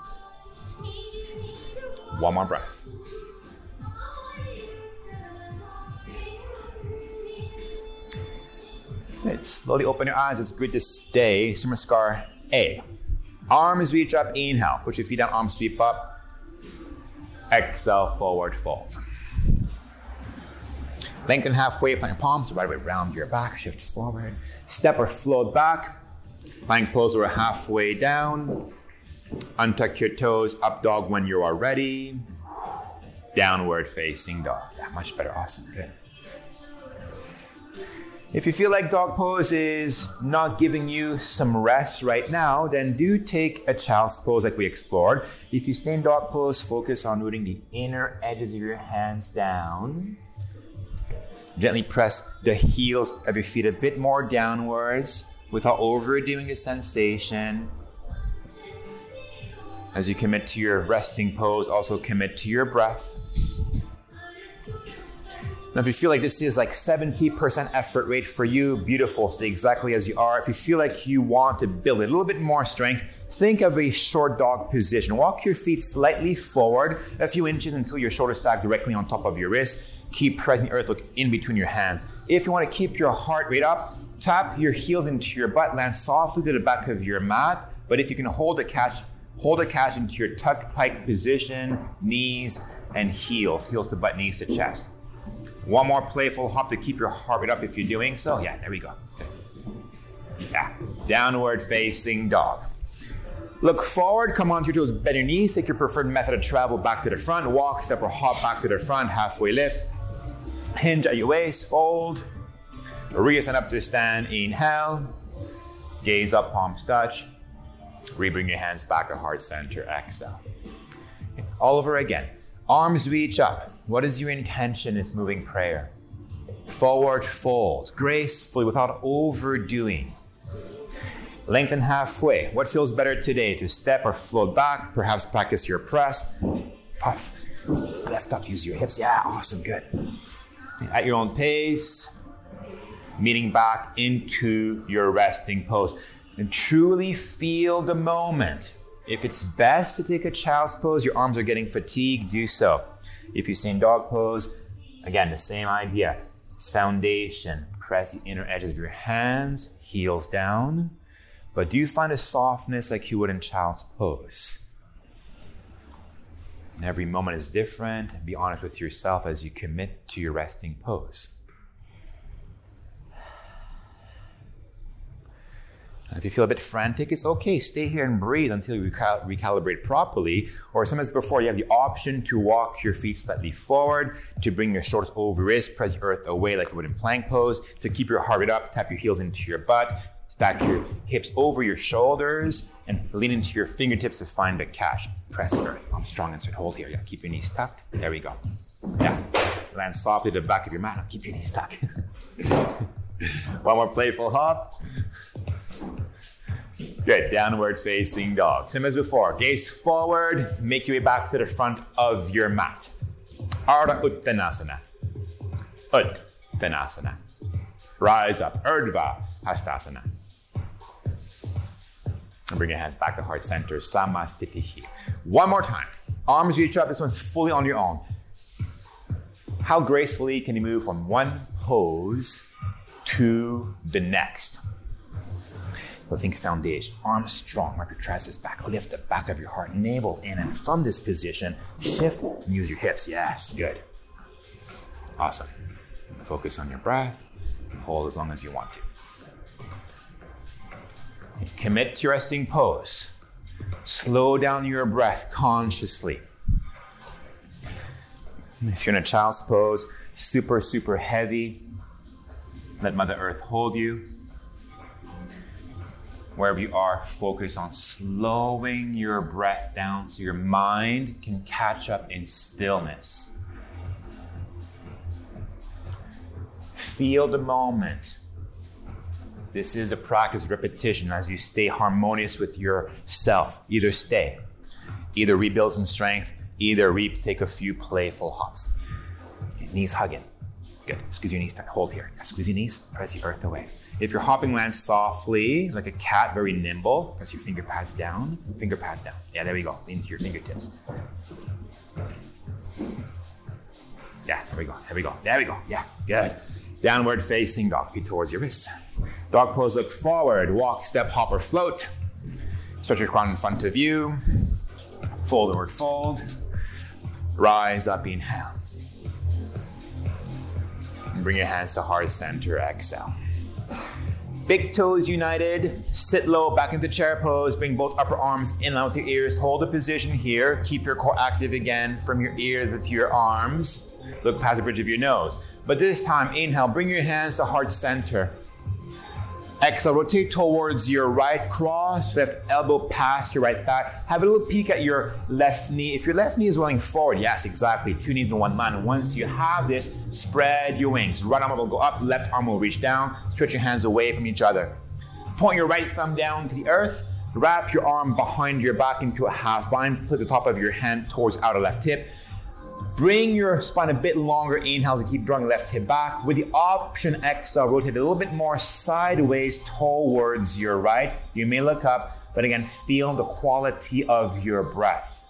[SPEAKER 1] 1 more breath. Good. Slowly open your eyes. It's good to stay. Sumaskar A. Arms reach up, inhale. Push your feet down, arms sweep up. Exhale, forward fold. Lengthen halfway, plant your palms right away around your back. Shift forward. Step or float back. Plank pose or halfway down. Untuck your toes, up dog when you are ready. Downward facing dog. Yeah, much better, awesome, good. If you feel like dog pose is not giving you some rest right now, then do take a child's pose like we explored. If you stay in dog pose, focus on rooting the inner edges of your hands down. Gently press the heels of your feet a bit more downwards without overdoing the sensation. As you commit to your resting pose, also commit to your breath. Now, if you feel like this is like 70% effort rate for you, beautiful, stay exactly as you are. If you feel like you want to build a little bit more strength, think of a short dog position. Walk your feet slightly forward a few inches until your shoulders stack directly on top of your wrist. Keep pressing the earth, look in between your hands. If you want to keep your heart rate up, tap your heels into your butt, land softly to the back of your mat. But if you can hold a catch into your tuck pike position, knees and heels to butt, knees to chest. One more playful hop to keep your heart rate up if you're doing so. Yeah, there we go. Yeah, downward facing dog. Look forward, come onto your toes, bend your knees, take your preferred method of travel back to the front, walk, step or hop back to the front, halfway lift. Hinge at your waist, fold. Reascend up to stand, inhale. Gaze up, palms touch. Rebring your hands back to heart center, exhale. All over again. Arms reach up. What is your intention in this moving prayer? Forward fold, gracefully without overdoing. Lengthen halfway. What feels better today? To step or float back, perhaps practice your press. Puff. Lift up, use your hips. Yeah, awesome, good. At your own pace, meeting back into your resting pose. And truly feel the moment. If it's best to take a child's pose, your arms are getting fatigued, do so. If you stay in dog pose, again, the same idea. It's foundation. Press the inner edges of your hands, heels down. But do you find a softness like you would in child's pose? And every moment is different. Be honest with yourself as you commit to your resting pose. If you feel a bit frantic, it's okay. Stay here and breathe until you recalibrate properly. Or sometimes before, you have the option to walk your feet slightly forward, to bring your shoulders over wrist, press the earth away like you would in plank pose, to keep your heart rate up, tap your heels into your butt, stack your hips over your shoulders, and lean into your fingertips to find a catch. Press the earth. I'm strong and straight. Hold here. Yeah, keep your knees tucked. There we go. Yeah. Land softly to the back of your mat. Now keep your knees tucked. One more playful hop. Good, downward facing dog. Same as before, gaze forward, make your way back to the front of your mat. Ardha Uttanasana. Uttanasana. Rise up, Urdhva Hastasana. And bring your hands back to heart center, Samastitihi. One more time. Arms reach up, this one's fully on your own. How gracefully can you move from one pose to the next? So think foundation, arms strong, wrap your triceps back, lift the back of your heart, navel in, and from this position, shift and use your hips. Yes, good. Awesome. Focus on your breath, hold as long as you want to. Commit to your resting pose. Slow down your breath consciously. If you're in a child's pose, super, super heavy, let Mother Earth hold you. Wherever you are, focus on slowing your breath down so your mind can catch up in stillness. Feel the moment. This is a practice of repetition as you stay harmonious with yourself. Either stay, either rebuild some strength, either take a few playful hops. Knees hugging. Good. Squeeze your knees. Hold here. Squeeze your knees. Press the earth away. If you're hopping, land softly, like a cat, very nimble. Press your finger pads down. Finger pads down. Yeah, there we go. Lean into your fingertips. Yeah, there we go. There we go. There we go. Yeah, good. Downward facing dog. Feet towards your wrists. Dog pose, look forward. Walk, step, hop, or float. Stretch your crown in front of you. Forward fold. Rise up, inhale. And bring your hands to heart center, exhale. Big toes united, sit low, back into chair pose, bring both upper arms in line with your ears, hold the position here, keep your core active again from your ears with your arms, look past the bridge of your nose. But this time, inhale, bring your hands to heart center. Exhale, rotate towards your right, cross left elbow past your right thigh. Have a little peek at your left knee. If your left knee is rolling forward, yes, exactly, 2 knees in one line. And once you have this, spread your wings. Right arm will go up, left arm will reach down. Stretch your hands away from each other. Point your right thumb down to the earth. Wrap your arm behind your back into a half bind. Put the top of your hand towards outer left hip. Bring your spine a bit longer. Inhale to keep drawing left hip back. With the option, exhale, rotate a little bit more sideways towards your right. You may look up, but again, feel the quality of your breath.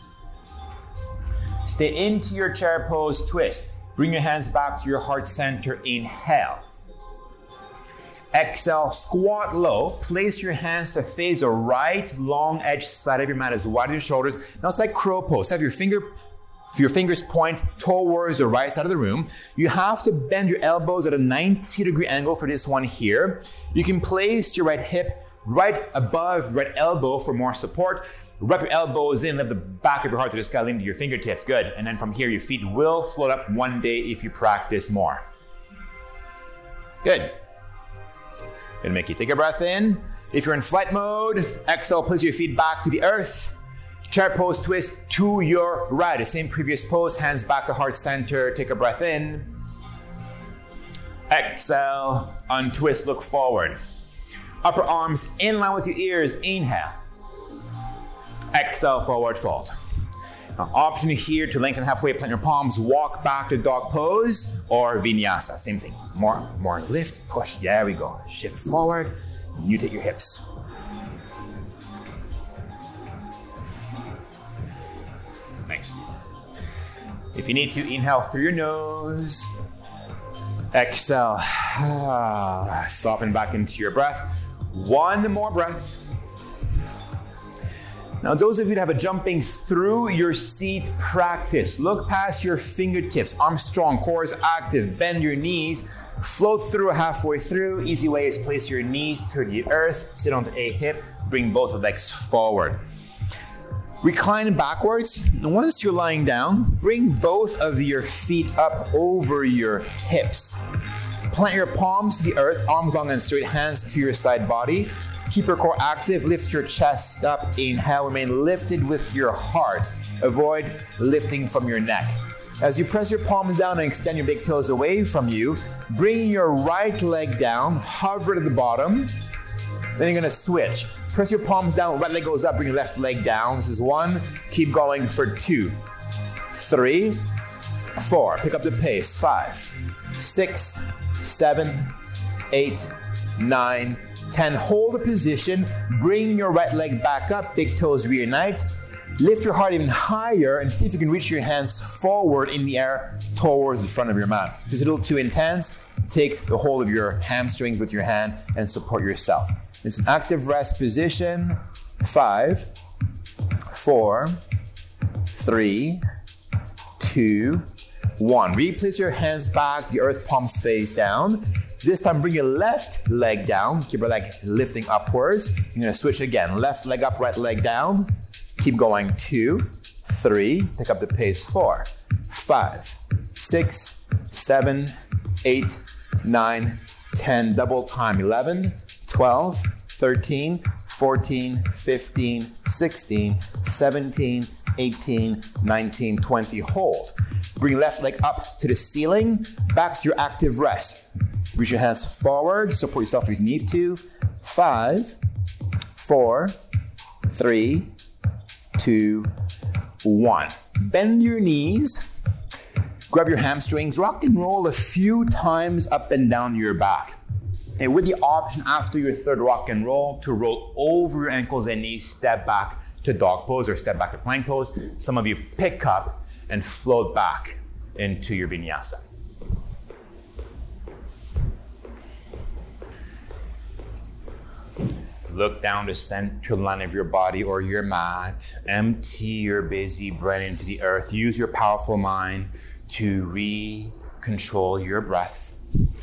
[SPEAKER 1] Stay into your chair pose twist. Bring your hands back to your heart center. Inhale. Exhale, squat low. Place your hands to face the right long edge side of your mat as wide as your shoulders. Now it's like crow pose. Have your fingers point towards the right side of the room. You have to bend your elbows at a 90-degree angle for this one here. You can place your right hip right above right elbow for more support. Wrap your elbows in, lift the back of your heart to the sky, lean to your fingertips. Good. And then from here, your feet will float up one day if you practice more. Good. Gonna make you take a breath in. If you're in flight mode, exhale, place your feet back to the earth. Chair pose twist to your right. The same previous pose, hands back to heart center. Take a breath in. Exhale, untwist, look forward. Upper arms in line with your ears. Inhale. Exhale, forward fold. Now, option here to lengthen halfway, plant your palms, walk back to dog pose or vinyasa. Same thing. More lift, push. There we go. Shift forward. Mutate your hips. Nice. If you need to, inhale through your nose. Exhale. Soften back into your breath. One more breath. Now, those of you that have a jumping through your seat practice, look past your fingertips, arms strong, core is active, bend your knees, float through halfway through. Easy way is place your knees to the earth, sit onto a hip, bring both legs forward. Recline backwards. And once you're lying down, bring both of your feet up over your hips. Plant your palms to the earth, arms long and straight, hands to your side body. Keep your core active, lift your chest up, inhale, remain lifted with your heart. Avoid lifting from your neck. As you press your palms down and extend your big toes away from you, bring your right leg down, hover to the bottom. Then you're gonna switch. Press your palms down, right leg goes up, bring your left leg down. This is 1, keep going for 2, 3, 4, pick up the pace, 5, 6, 7, 8, 9, 10, hold a position, bring your right leg back up, big toes reunite, lift your heart even higher and see if you can reach your hands forward in the air towards the front of your mat. If it's a little too intense, take the hold of your hamstrings with your hand and support yourself. It's an active rest position. 5, 4, 3, 2, 1. Replace your hands back, the earth palms face down. This time, bring your left leg down. Keep your leg lifting upwards. You're gonna switch again. Left leg up, right leg down. Keep going. 2, 3. Pick up the pace. 4, 5, 6, 7, 8, 9, 10. Double time. 11, 12, 13, 14, 15, 16, 17, 18, 19, 20. Hold. Bring left leg up to the ceiling. Back to your active rest. Reach your hands forward, support yourself if you need to. 5, 4, 3, 2, 1. Bend your knees, grab your hamstrings, rock and roll a few times up and down your back. And with the option after your third rock and roll to roll over your ankles and knees, step back to dog pose or step back to plank pose. Some of you pick up and float back into your vinyasa. Look down the central line of your body or your mat. Empty your busy brain into the earth. Use your powerful mind to re-control your breath.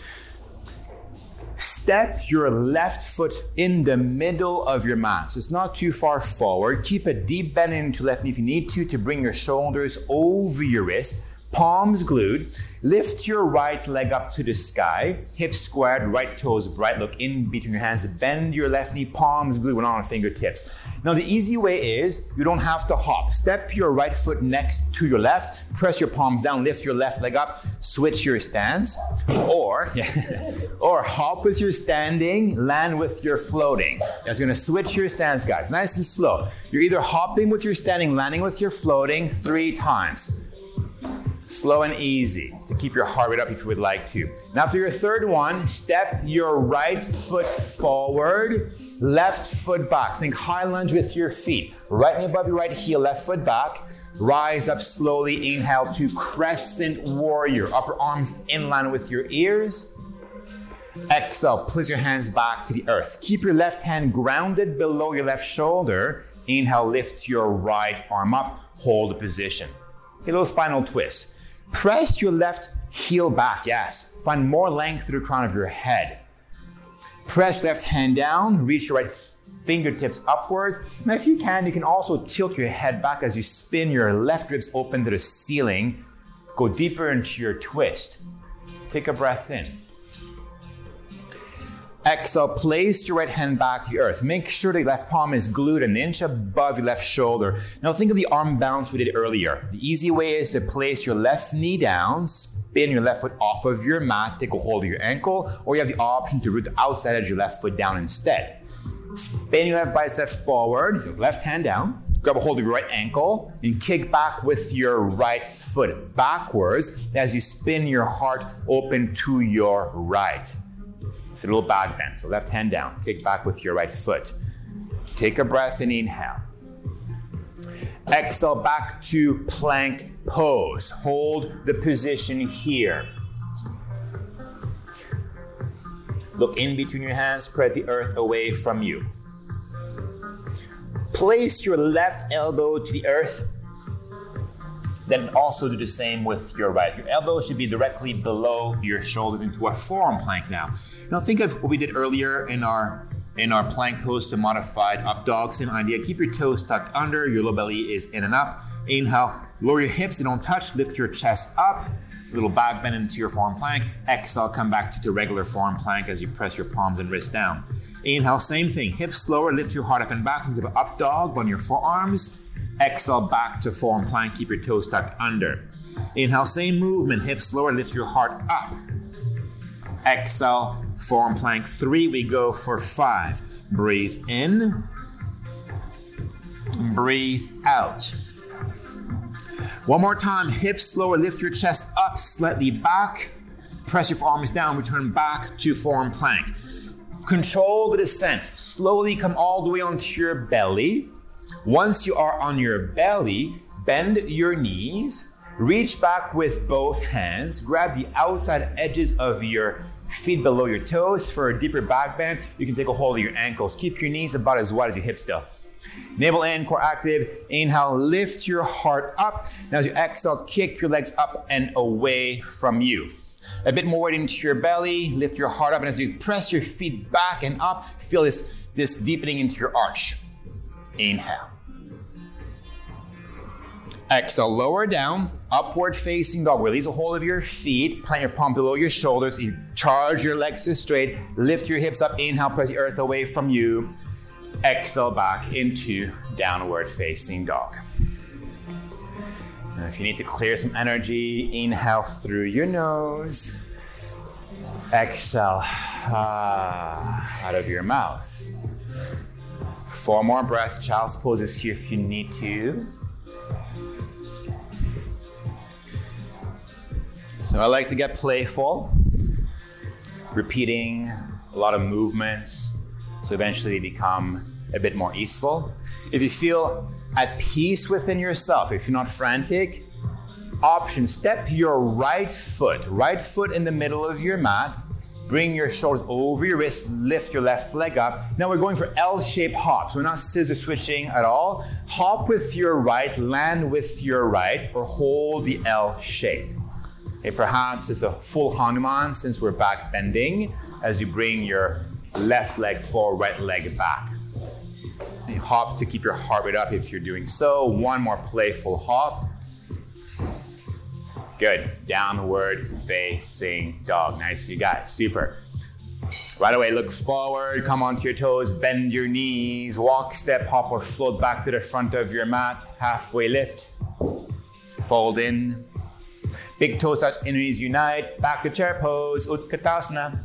[SPEAKER 1] Step your left foot in the middle of your mat. So it's not too far forward. Keep a deep bend into left knee if you need to bring your shoulders over your wrist. Palms glued. Lift your right leg up to the sky. Hips squared, right toes bright. Look in between your hands. Bend your left knee, palms glued on fingertips. Now the easy way is you don't have to hop. Step your right foot next to your left. Press your palms down. Lift your left leg up. Switch your stance. Or hop with your standing. Land with your floating. That's going to switch your stance, guys. Nice and slow. You're either hopping with your standing, landing with your floating 3 times. Slow and easy to keep your heart rate up if you would like to. Now for your third one, step your right foot forward, left foot back. Think high lunge with your feet. Right knee above your right heel, left foot back. Rise up slowly. Inhale to crescent warrior. Upper arms in line with your ears. Exhale, place your hands back to the earth. Keep your left hand grounded below your left shoulder. Inhale, lift your right arm up. Hold the position. A little spinal twist. Press your left heel back, yes. Find more length through the crown of your head. Press left hand down, reach your right fingertips upwards. Now if you can also tilt your head back as you spin your left ribs open to the ceiling. Go deeper into your twist. Take a breath in. Exhale, place your right hand back to the earth. Make sure the left palm is glued an inch above your left shoulder. Now think of the arm balance we did earlier. The easy way is to place your left knee down, spin your left foot off of your mat, take a hold of your ankle, or you have the option to root the outside edge of your left foot down instead. Spin your left bicep forward, left hand down, grab a hold of your right ankle, and kick back with your right foot backwards as you spin your heart open to your right. It's a little back bend. So left hand down, kick back with your right foot. Take a breath and inhale. Exhale back to plank pose. Hold the position here. Look in between your hands, spread the earth away from you. Place your left elbow to the earth. Then also do the same with your right. Your elbow should be directly below your shoulders into a forearm plank now. Now think of what we did earlier in our plank pose to modified up dog. Same idea. Keep your toes tucked under. Your low belly is in and up. Inhale. Lower your hips. They don't touch. Lift your chest up. A little back bend into your forearm plank. Exhale. Come back to the regular forearm plank as you press your palms and wrists down. Inhale. Same thing. Hips lower. Lift your heart up and back. Think of an up dog on your forearms. Exhale back to forearm plank. Keep your toes tucked under. Inhale, same movement. Hips lower, lift your heart up. Exhale, forearm plank 3. We go for 5. Breathe in. Breathe out. One more time. Hips lower, lift your chest up, slightly back. Press your forearms down. Return back to forearm plank. Control the descent. Slowly come all the way onto your belly. Once you are on your belly, bend your knees, reach back with both hands, grab the outside edges of your feet below your toes. For a deeper back bend, you can take a hold of your ankles. Keep your knees about as wide as your hips still. Navel in, core active. Inhale, lift your heart up. Now as you exhale, kick your legs up and away from you. A bit more weight into your belly, lift your heart up, and as you press your feet back and up, feel this deepening into your arch. Inhale. Exhale, lower down, upward facing dog. Release a hold of your feet, plant your palm below your shoulders. You charge your legs to straight, lift your hips up. Inhale, press the earth away from you. Exhale back into downward facing dog. And if you need to clear some energy, inhale through your nose. Exhale out of your mouth. 4 more breaths. Child's pose is here if you need to. So I like to get playful, repeating a lot of movements, so eventually they become a bit more easeful. If you feel at peace within yourself, if you're not frantic, option, step your right foot in the middle of your mat, bring your shoulders over your wrists, lift your left leg up. Now we're going for L-shaped hops. We're not scissor switching at all. Hop with your right, land with your right, or hold the L shape. Okay, perhaps it's a full Hanuman since we're back bending as you bring your left leg forward, right leg back. And you hop to keep your heart rate up if you're doing so. 1 more playful hop. Good. Downward facing dog. Nice, you guys. Super. Right away, look forward, come onto your toes, bend your knees, walk, step, hop, or float back to the front of your mat. Halfway lift. Fold in. Big toes touch, inner knees unite. Back to chair pose, Utkatasana.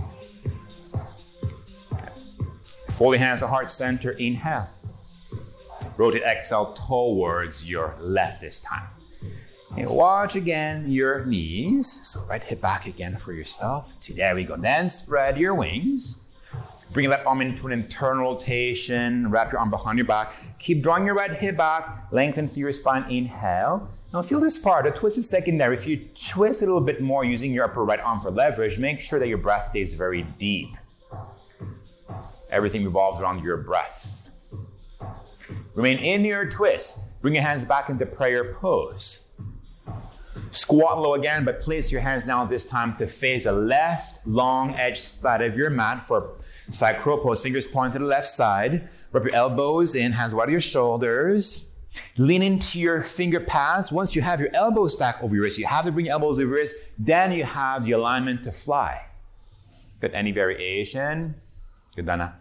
[SPEAKER 1] Fold your hands to heart center, inhale. Rotate, exhale towards your left this time.
[SPEAKER 2] Okay, watch again your knees. So right hip back again for yourself. There we go. Then spread your wings. Bring your left arm into an internal rotation. Wrap your arm behind your back. Keep drawing your right hip back. Lengthen through your spine. Inhale. Now feel this part. The twist is secondary. If you twist a little bit more using your upper right arm for leverage, make sure that your breath stays very deep. Everything revolves around your breath. Remain in your twist. Bring your hands back into prayer pose. Squat low again, but place your hands now this time to face the left long edge side of your mat for side crow pose. Fingers point to the left side. Rub your elbows in, hands wide of your shoulders. Lean into your finger pads. Once you have your elbows stacked over your wrist, you have to bring your elbows over your wrist. Then you have the alignment to fly. Good. Any variation? Good, Dana.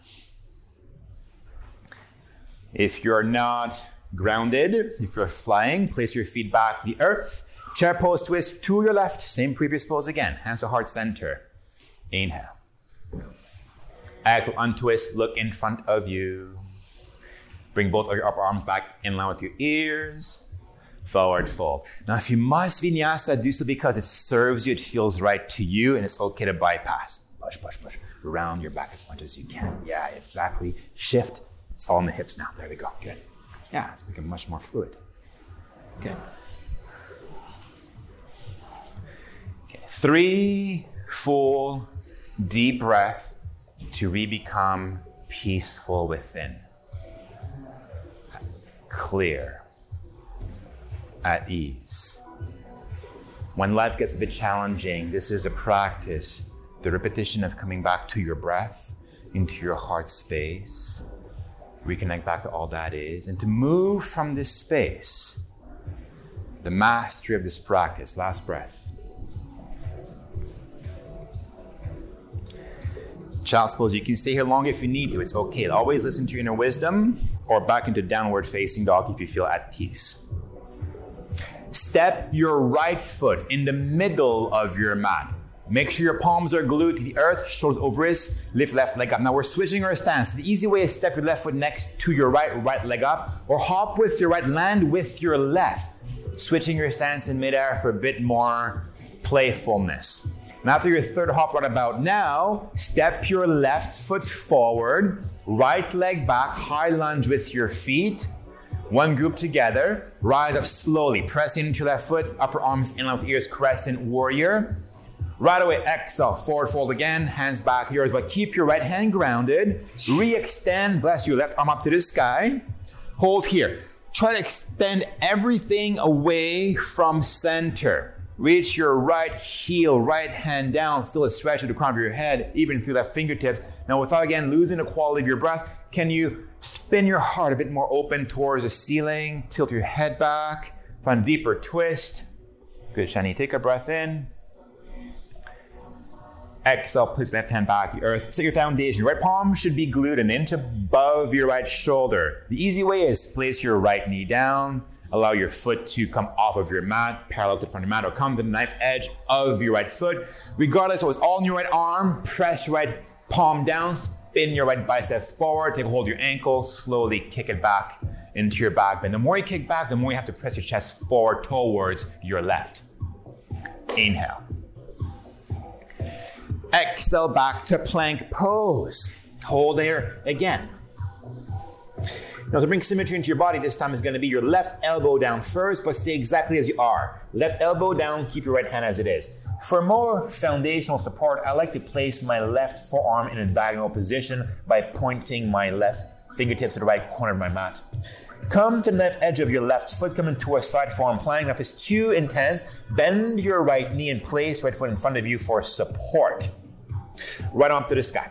[SPEAKER 2] If you're not grounded, if you're flying, place your feet back to the earth. Chair pose, twist to your left. Same previous pose again. Hands to heart center. Inhale. Exhale, untwist, look in front of you. Bring both of your upper arms back in line with your ears. Forward fold. Now, if you must vinyasa, do so because it serves you, it feels right to you, and it's okay to bypass. Push, push, push. Round your back as much as you can. Yeah, exactly. Shift. It's all in the hips now. There we go. Good. Yeah, it's become much more fluid. Good. Okay. 3 full deep breath to become peaceful within. Clear. At ease. When life gets a bit challenging, this is a practice, the repetition of coming back to your breath, into your heart space, reconnect back to all that is, and to move from this space, the mastery of this practice. Last breath. Child's pose, you can stay here long if you need to. It's okay. Always listen to your inner wisdom, or back into downward facing dog if you feel at peace. Step your right foot in the middle of your mat. Make sure your palms are glued to the earth, shoulders over wrists, lift left leg up. Now we're switching our stance. The easy way is step your left foot next to your right leg up, or hop with your right, land with your left. Switching your stance in midair for a bit more playfulness. And after your third hop right about now, step your left foot forward, right leg back, high lunge with your feet. One group together, rise up slowly, press into your left foot, upper arms in line with ears, crescent warrior. Right away, exhale, forward fold again, hands back yours, but keep your right hand grounded. Re-extend, bless your left arm up to the sky. Hold here. Try to extend everything away from center. Reach your right heel, right hand down. Feel a stretch at the crown of your head, even through left fingertips. Now, without again losing the quality of your breath, can you spin your heart a bit more open towards the ceiling? Tilt your head back. Find a deeper twist. Good, Shani. Take a breath in. Exhale, push left hand back to the earth. Set your foundation. Your right palm should be glued an inch above your right shoulder. The easy way is place your right knee down. Allow your foot to come off of your mat, parallel to the front of your mat, or come to the knife edge of your right foot. Regardless, so it's all in your right arm. Press your right palm down. Spin your right bicep forward. Take a hold of your ankle. Slowly kick it back into your back bend. The more you kick back, the more you have to press your chest forward towards your left. Inhale. Exhale back to plank pose. Hold there again. Now to bring symmetry into your body, this time is going to be your left elbow down first, but stay exactly as you are. Left elbow down, keep your right hand as it is. For more foundational support, I like to place my left forearm in a diagonal position by pointing my left fingertips to the right corner of my mat. Come to the left edge of your left foot, come into a side forearm plank. Now if it's too intense, bend your right knee and place right foot in front of you for support. Right arm up to the sky.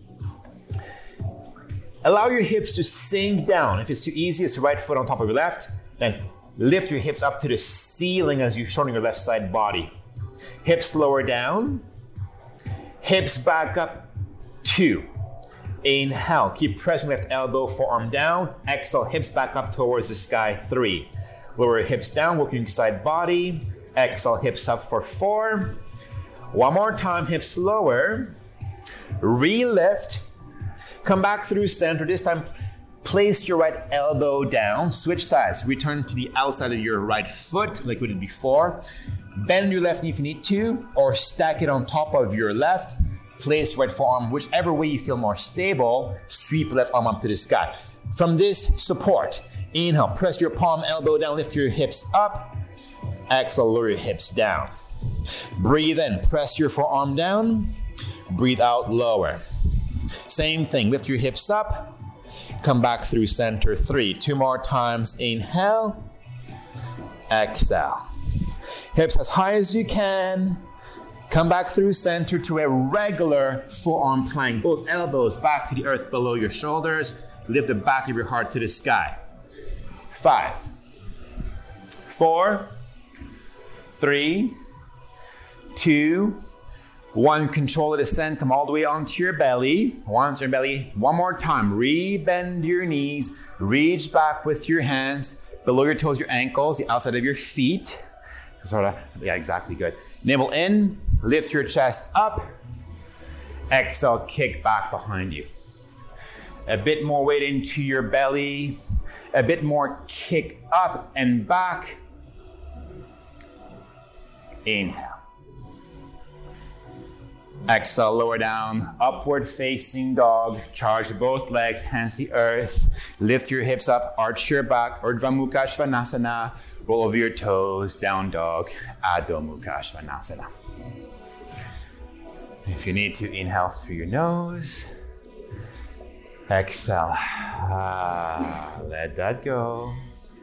[SPEAKER 2] Allow your hips to sink down. If it's too easy, it's the right foot on top of your left. Then lift your hips up to the ceiling as you're showing your left side body. Hips lower down. Hips back up. 2. Inhale. Keep pressing left elbow, forearm down. Exhale, hips back up towards the sky. 3. Lower hips down, working side body. Exhale, hips up for 4. One more time, hips lower. Re-lift. Come back through center. This time, Place your right elbow down, switch sides. Return to the outside of your right foot like we did before. Bend your left knee if you need to, or stack it on top of your left. Place right forearm, whichever way you feel more stable. Sweep left arm up to the sky. From this support, inhale, press your palm, elbow down, lift your hips up. Exhale, lower your hips down. Breathe in, press your forearm down. Breathe out, lower. Same thing, lift your hips up. Come back through center, 3. 2 more times, inhale. Exhale. Hips as high as you can. Come back through center to a regular forearm plank. Both elbows back to the earth below your shoulders. Lift the back of your heart to the sky. 5, 4, 3, 2, 1. Control the descent. Come all the way onto your belly. Onto your belly. One more time. Rebend your knees. Reach back with your hands. Below your toes, your ankles, the outside of your feet. Yeah, exactly, good. Navel in. Lift your chest up. Exhale, kick back behind you. A bit more weight into your belly. A bit more kick up and back. Inhale. Exhale, lower down, upward facing dog. Charge both legs, hands to the earth. Lift your hips up, arch your back. Urdhva Mukha Svanasana. Roll over your toes, down dog, Adho Mukha Svanasana. If you need to, inhale through your nose. Exhale. Let that go.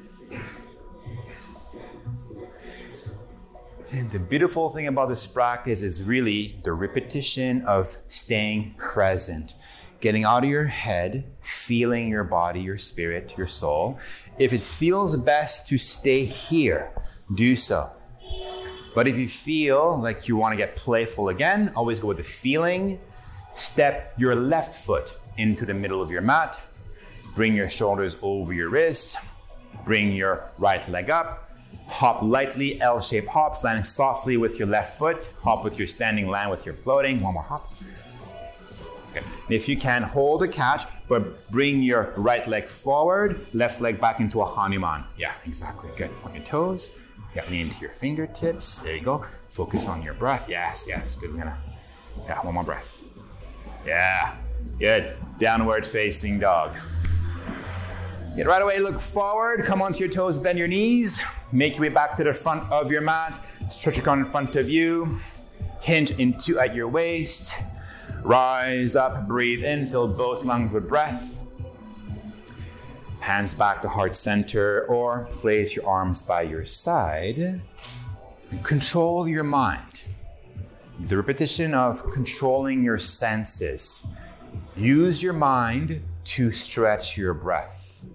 [SPEAKER 2] And the beautiful thing about this practice is really the repetition of staying present, getting out of your head, feeling your body, your spirit, your soul. If it feels best to stay here, do so. But if you feel like you want to get playful again, always go with the feeling. Step your left foot into the middle of your mat. Bring your shoulders over your wrists. Bring your right leg up. Hop lightly, L-shaped hops, landing softly with your left foot. Hop with your standing, land with your floating. One more hop. Okay. If you can, hold a catch, but bring your right leg forward, left leg back into a Hanuman. Yeah, exactly. Good. On your toes. Yeah, lean into your fingertips. There you go. Focus on your breath. Yes, yes. Good. One more breath. Yeah, good. Downward facing dog. Get right away, look forward, come onto your toes, bend your knees, make your way back to the front of your mat, stretch your arm in front of you, hinge into at your waist, rise up, breathe in, fill both lungs with breath, hands back to heart center, or place your arms by your side, control your mind. The repetition of controlling your senses. Use your mind to stretch your breath,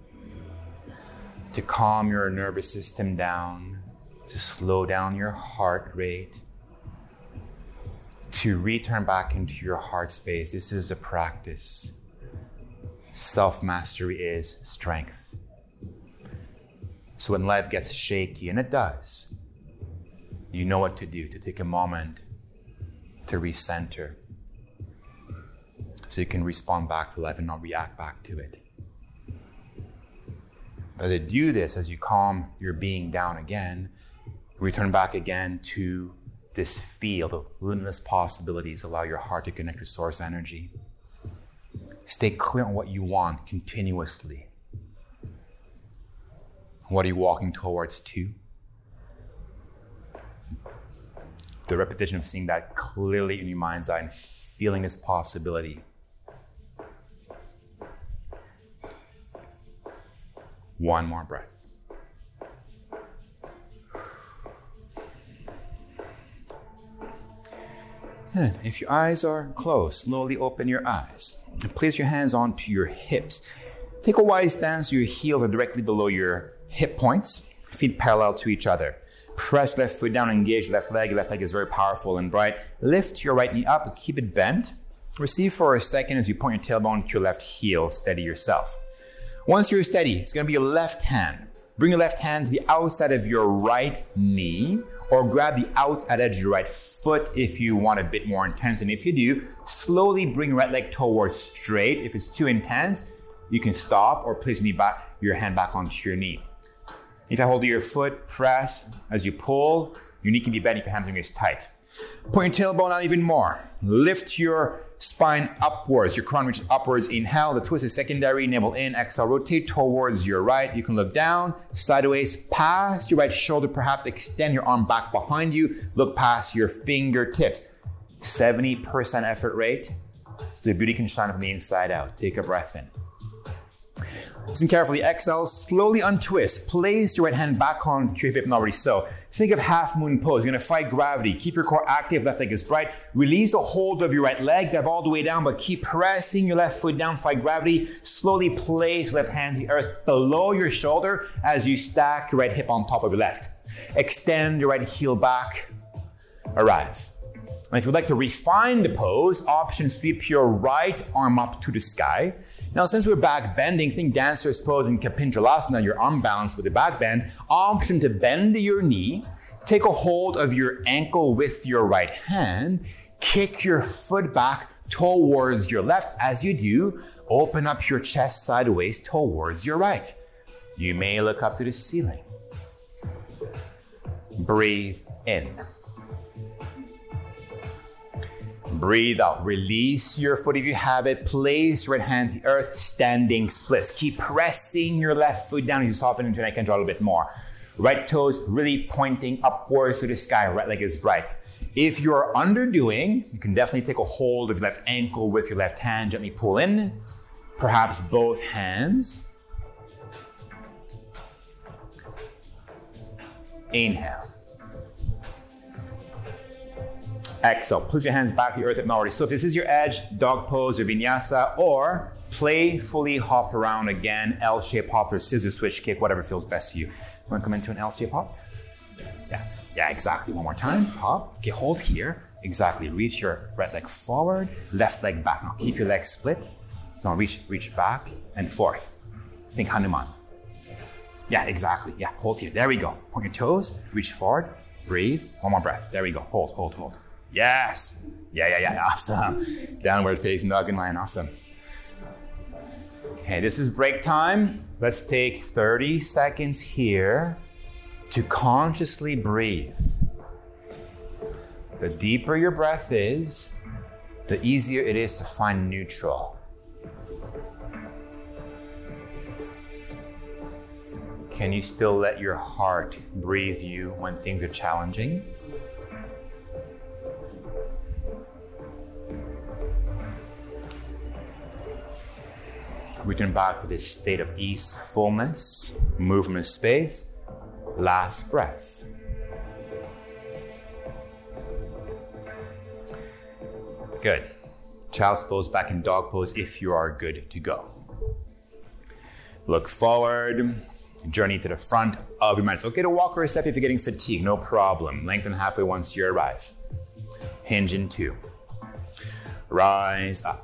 [SPEAKER 2] to calm your nervous system down, to slow down your heart rate, to return back into your heart space. This is the practice. Self-mastery is strength. So when life gets shaky, and it does, you know what to do, to take a moment to recenter, so you can respond back to life and not react back to it. But to do this, as you calm your being down again, return back again to this field of limitless possibilities. Allow your heart to connect with source energy. Stay clear on what you want continuously. What are you walking towards to? The repetition of seeing that clearly in your mind's eye and feeling this possibility. One more breath. And if your eyes are closed, slowly open your eyes and place your hands onto your hips. Take a wide stance. Your heels are directly below your hip points, feet parallel to each other. Press left foot down, engage left leg. Left leg is very powerful and bright. Lift your right knee up and keep it bent. Receive for a second as you point your tailbone to your left heel. Steady yourself. Once you're steady, it's going to be your left hand. Bring your left hand to the outside of your right knee, or grab the outside edge of your right foot if you want a bit more intense. And if you do, slowly bring your right leg towards straight. If it's too intense, you can stop or place your hand back onto your knee. If I hold your foot, press. As you pull, your knee can be bent if your hamstring is tight. Point your tailbone out even more. Lift your spine upwards. Your crown reaches upwards. Inhale. The twist is secondary. Navel in. Exhale. Rotate towards your right. You can look down, sideways, past your right shoulder. Perhaps extend your arm back behind you. Look past your fingertips. 70% effort rate. So the beauty can shine from the inside out. Take a breath in. Listen carefully. Exhale. Slowly untwist. Place your right hand back onto your hip, and already so. Think of half moon pose. You're going to fight gravity. Keep your core active. Left leg is bright. Release the hold of your right leg. Dive all the way down, but keep pressing your left foot down. Fight gravity. Slowly place your left hand to the earth below your shoulder as you stack your right hip on top of your left. Extend your right heel back. Arrive. And if you'd like to refine the pose, option sweep your right arm up to the sky. Now, since we're back bending, think dancer's pose in Kapindralasana, your arm balance with the back bend. Option to bend your knee, take a hold of your ankle with your right hand, kick your foot back towards your left. As you do, open up your chest sideways towards your right. You may look up to the ceiling. Breathe in. Breathe out. Release your foot if you have it. Place your right hand to the earth. Standing splits. Keep pressing your left foot down as you soften into your neck and draw a little bit more. Right toes really pointing upwards to the sky. Right leg is bright. If you're underdoing, you can definitely take a hold of your left ankle with your left hand. Gently pull in. Perhaps both hands. Inhale. Exhale. Push your hands back to the earth if not already. So if this is your edge, dog pose or vinyasa, or playfully hop around again, L-shape hop or scissor switch kick, whatever feels best for you. Want to come into an L-shape hop? Yeah, exactly. One more time. Hop. Okay, hold here. Exactly. Reach your right leg forward, left leg back. Now keep your legs split. So reach back and forth. Think Hanuman. Yeah, exactly. Yeah, hold here. There we go. Point your toes, reach forward, breathe. One more breath. There we go. Hold. Yes. Yeah. Awesome. Downward facing dog and lion. Awesome. Okay, this is break time. Let's take 30 seconds here to consciously breathe. The deeper your breath is, the easier it is to find neutral. Can you still let your heart breathe you when things are challenging? Return back to this state of ease, fullness, movement of space. Last breath. Good. Child's pose, back in dog pose if you are good to go. Look forward. Journey to the front of your mat. It's okay to walk or a step if you're getting fatigued, no problem. Lengthen halfway once you arrive. Hinge in 2. Rise up.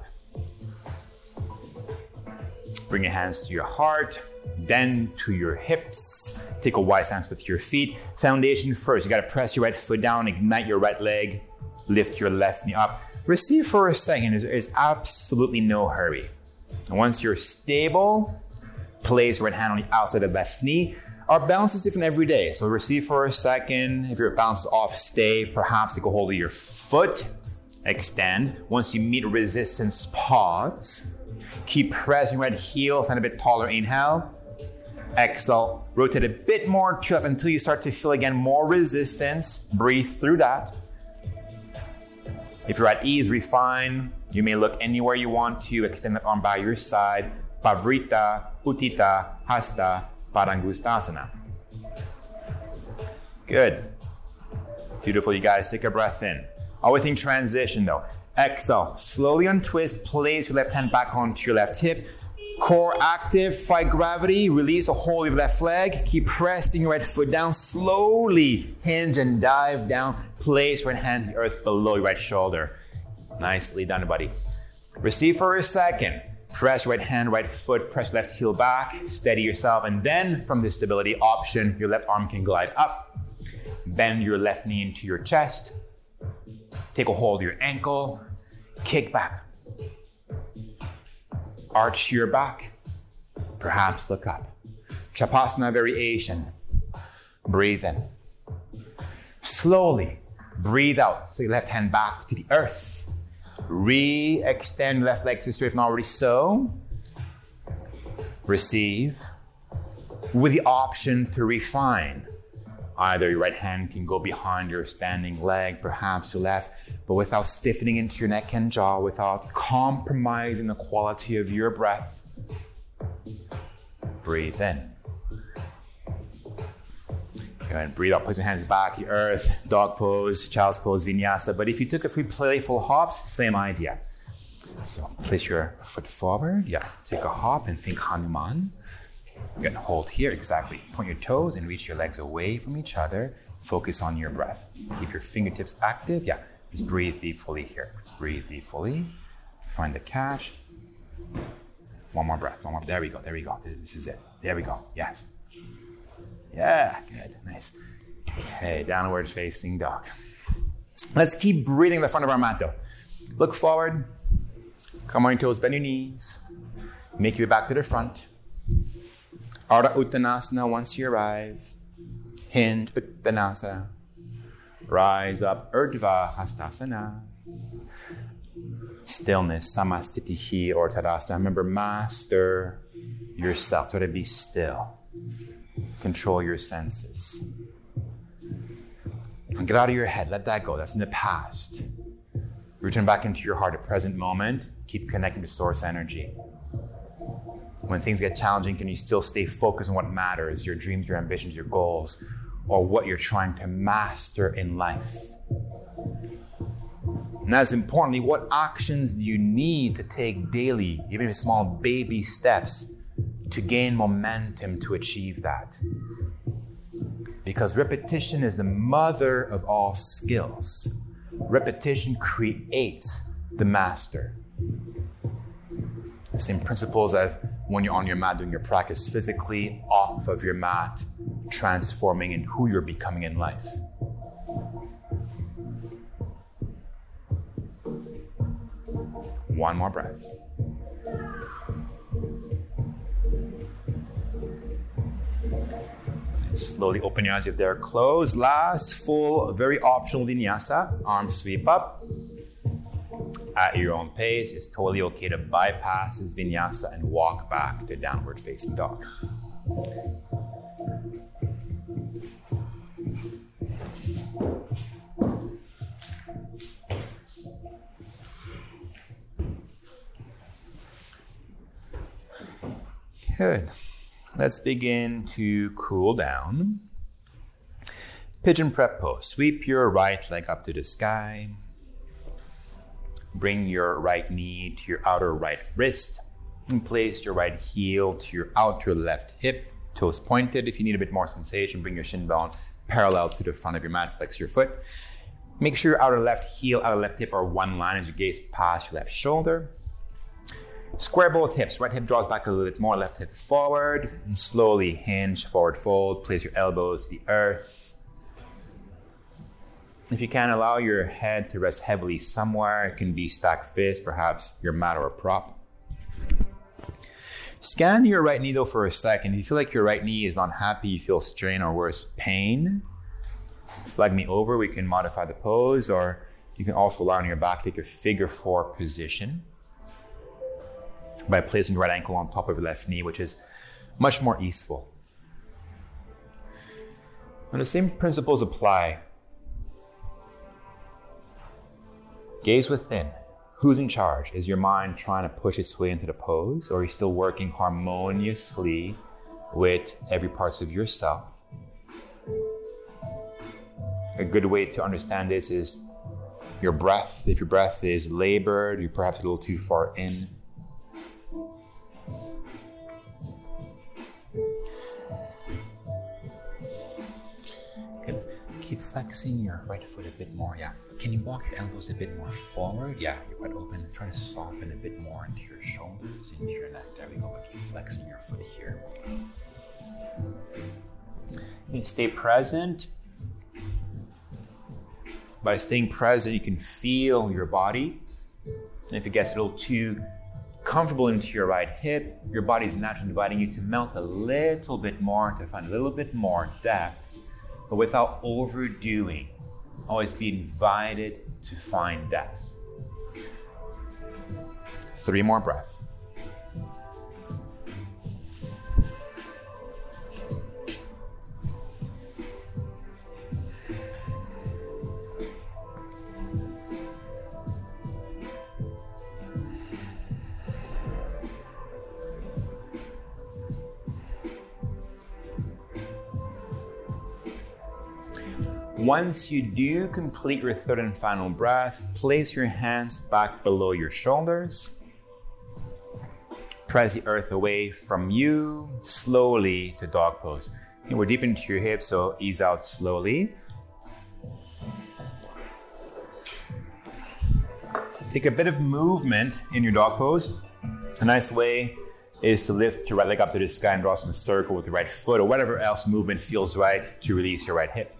[SPEAKER 2] Bring your hands to your heart, then to your hips. Take a wide stance with your feet. Foundation first. You got to press your right foot down, ignite your right leg, lift your left knee up. Receive for a second. There's absolutely no hurry. And once you're stable, place right hand on the outside of the left knee. Our balance is different every day. So receive for a second. If your balance is off, stay. Perhaps take a hold of your foot. Extend. Once you meet resistance, pause. Keep pressing right heel, stand a bit taller. Inhale. Exhale. Rotate a bit more to left until you start to feel again more resistance. Breathe through that. If you're at ease, refine. You may look anywhere you want to. Extend that arm by your side. Pavrita, Uttita, Hasta, Padangustasana. Good. Beautiful, you guys. Take a breath in. Always in transition though. Exhale. Slowly untwist. Place your left hand back onto your left hip. Core active. Fight gravity. Release a hold of your left leg. Keep pressing your right foot down. Slowly hinge and dive down. Place right hand to the earth below your right shoulder. Nicely done, buddy. Receive for a second. Press right hand, right foot, press left heel back, steady yourself, and then from this stability option, your left arm can glide up. Bend your left knee into your chest. Take a hold of your ankle. Kick back. Arch your back. Perhaps look up. Chapasana variation. Breathe in. Slowly breathe out. So your left hand back to the earth. Re-extend left leg to straight if not already so. Receive. With the option to refine. Either your right hand can go behind your standing leg, perhaps to left, but without stiffening into your neck and jaw, without compromising the quality of your breath. Breathe in. Go ahead and breathe out, place your hands back, the earth, dog pose, child's pose, vinyasa. But if you took a few playful hops, same idea. So place your foot forward, take a hop and think Hanuman. Again, hold here, exactly. Point your toes and reach your legs away from each other. Focus on your breath. Keep your fingertips active. Just breathe deep fully here. Just breathe deep fully. Find the catch. One more breath, one more. There we go. This is it. There we go. Yes. Yeah, good, nice. Okay, downward facing dog. Let's keep breathing in the front of our mat though. Look forward. Come on your toes, bend your knees. Make your way back to the front. Ardha Uttanasana once you arrive. Hinge Uttanasana. Rise up, Urdhva Hastasana. Stillness, Samastitihi or Tadasana. Remember, master yourself. Try to be still. Control your senses. And get out of your head. Let that go. That's in the past. Return back into your heart at present moment. Keep connecting to source energy. When things get challenging, can you still stay focused on what matters, your dreams, your ambitions, your goals, or what you're trying to master in life? And as importantly, what actions do you need to take daily, even if small baby steps, to gain momentum to achieve that? Because repetition is the mother of all skills. Repetition creates the master. The same principles as when you're on your mat doing your practice physically, off of your mat, transforming in who you're becoming in life. One more breath. Slowly open your eyes if they're closed. Last full, very optional vinyasa. Arms sweep up. At your own pace, it's totally okay to bypass this vinyasa and walk back to downward facing dog. Good. Let's begin to cool down. Pigeon prep pose. Sweep your right leg up to the sky. Bring your right knee to your outer right wrist and place your right heel to your outer left hip. Toes pointed. If you need a bit more sensation, bring your shin bone parallel to the front of your mat. Flex your foot. Make sure your outer left heel, outer left hip are one line as you gaze past your left shoulder. Square both hips. Right hip draws back a little bit more, left hip forward. And slowly hinge, forward fold. Place your elbows to the earth. If you can, allow your head to rest heavily somewhere. It can be stacked fist, perhaps your mat or a prop. Scan your right knee though for a second. If you feel like your right knee is not happy, you feel strain or worse, pain, flag me over. We can modify the pose, or you can also lie on your back, take a figure 4 position by placing your right ankle on top of your left knee, which is much more easeful. And the same principles apply. Gaze within. Who's in charge? Is your mind trying to push its way into the pose, or are you still working harmoniously with every part of yourself? A good way to understand this is your breath. If your breath is labored, you're perhaps a little too far in. Keep flexing your right foot a bit more. Can you walk your elbows a bit more forward? You're quite open. Try to soften a bit more into your shoulders, into your neck. There we go. But keep flexing your foot here. You stay present. By staying present, you can feel your body. And if it gets a little too comfortable into your right hip. Your body's naturally inviting you to melt a little bit more, to find a little bit more depth, but without overdoing. Always be invited to find depth. 3 more breaths. Once you do complete your 3rd and final breath, place your hands back below your shoulders. Press the earth away from you, slowly to dog pose. And we're deep into your hips, so ease out slowly. Take a bit of movement in your dog pose. A nice way is to lift your right leg up to the sky and draw some circle with the right foot, or whatever else movement feels right to release your right hip.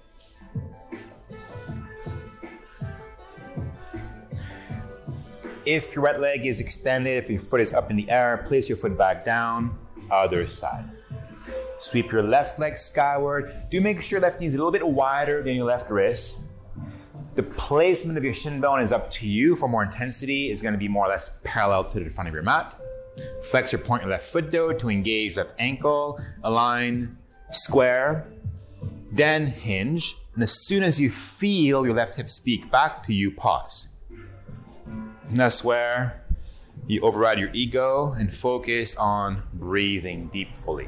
[SPEAKER 2] If your right leg is extended, if your foot is up in the air, place your foot back down, other side. Sweep your left leg skyward. Do make sure your left knee is a little bit wider than your left wrist. The placement of your shin bone is up to you. For more intensity, it's going to be more or less parallel to the front of your mat. Flex or point your left foot though to engage left ankle, align, square, then hinge. And as soon as you feel your left hip speak back to you, pause. And that's where you override your ego and focus on breathing deep fully.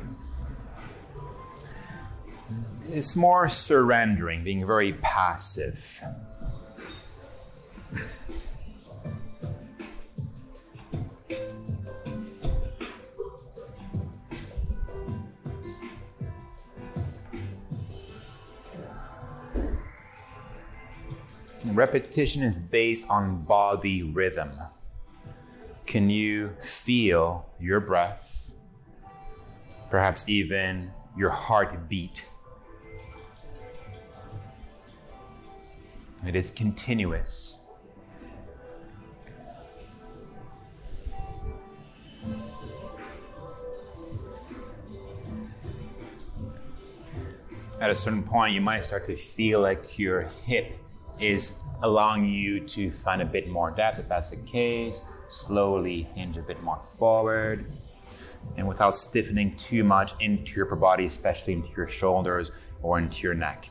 [SPEAKER 2] It's more surrendering, being very passive. Repetition is based on body rhythm. Can you feel your breath? Perhaps even your heartbeat. It is continuous. At a certain point, you might start to feel like your hip is allowing you to find a bit more depth. If that's the case, slowly hinge a bit more forward, and without stiffening too much into your upper body, especially into your shoulders or into your neck.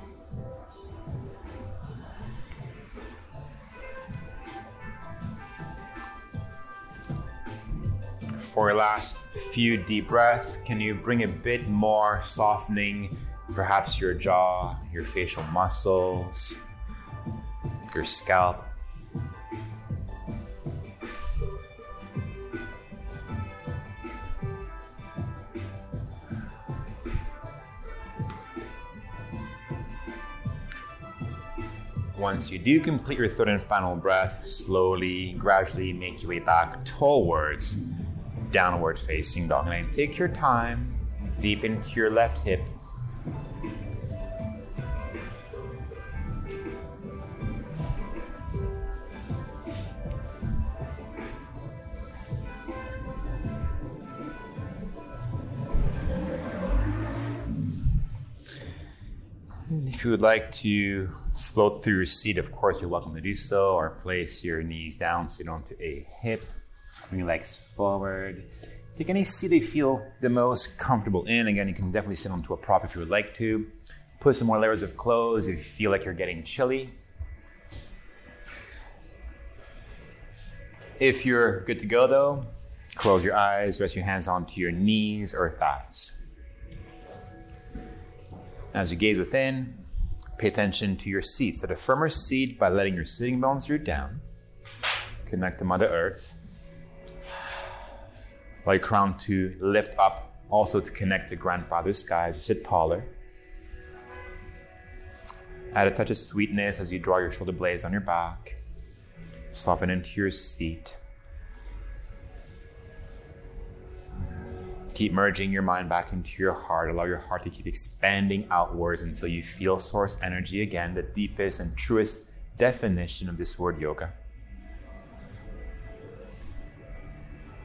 [SPEAKER 2] For your last few deep breaths, can you bring a bit more softening, perhaps your jaw, your facial muscles, your scalp. Once you do complete your 3rd and final breath, slowly, gradually make your way back towards downward facing dog. And take your time, deep into your left hip. If you would like to float through your seat, of course, you're welcome to do so, or place your knees down, sit onto a hip, bring your legs forward. Take any seat you feel the most comfortable in. Again, you can definitely sit onto a prop if you would like to. Put some more layers of clothes if you feel like you're getting chilly. If you're good to go though, close your eyes, rest your hands onto your knees or thighs. As you gaze within, pay attention to your seat. Set a firmer seat by letting your sitting bones root down. Connect to Mother Earth. Allow your crown to lift up, also to connect to Grandfather Sky as you sit taller. Add a touch of sweetness as you draw your shoulder blades on your back. Soften into your seat. Keep merging your mind back into your heart. Allow your heart to keep expanding outwards until you feel source energy again, the deepest and truest definition of this word yoga.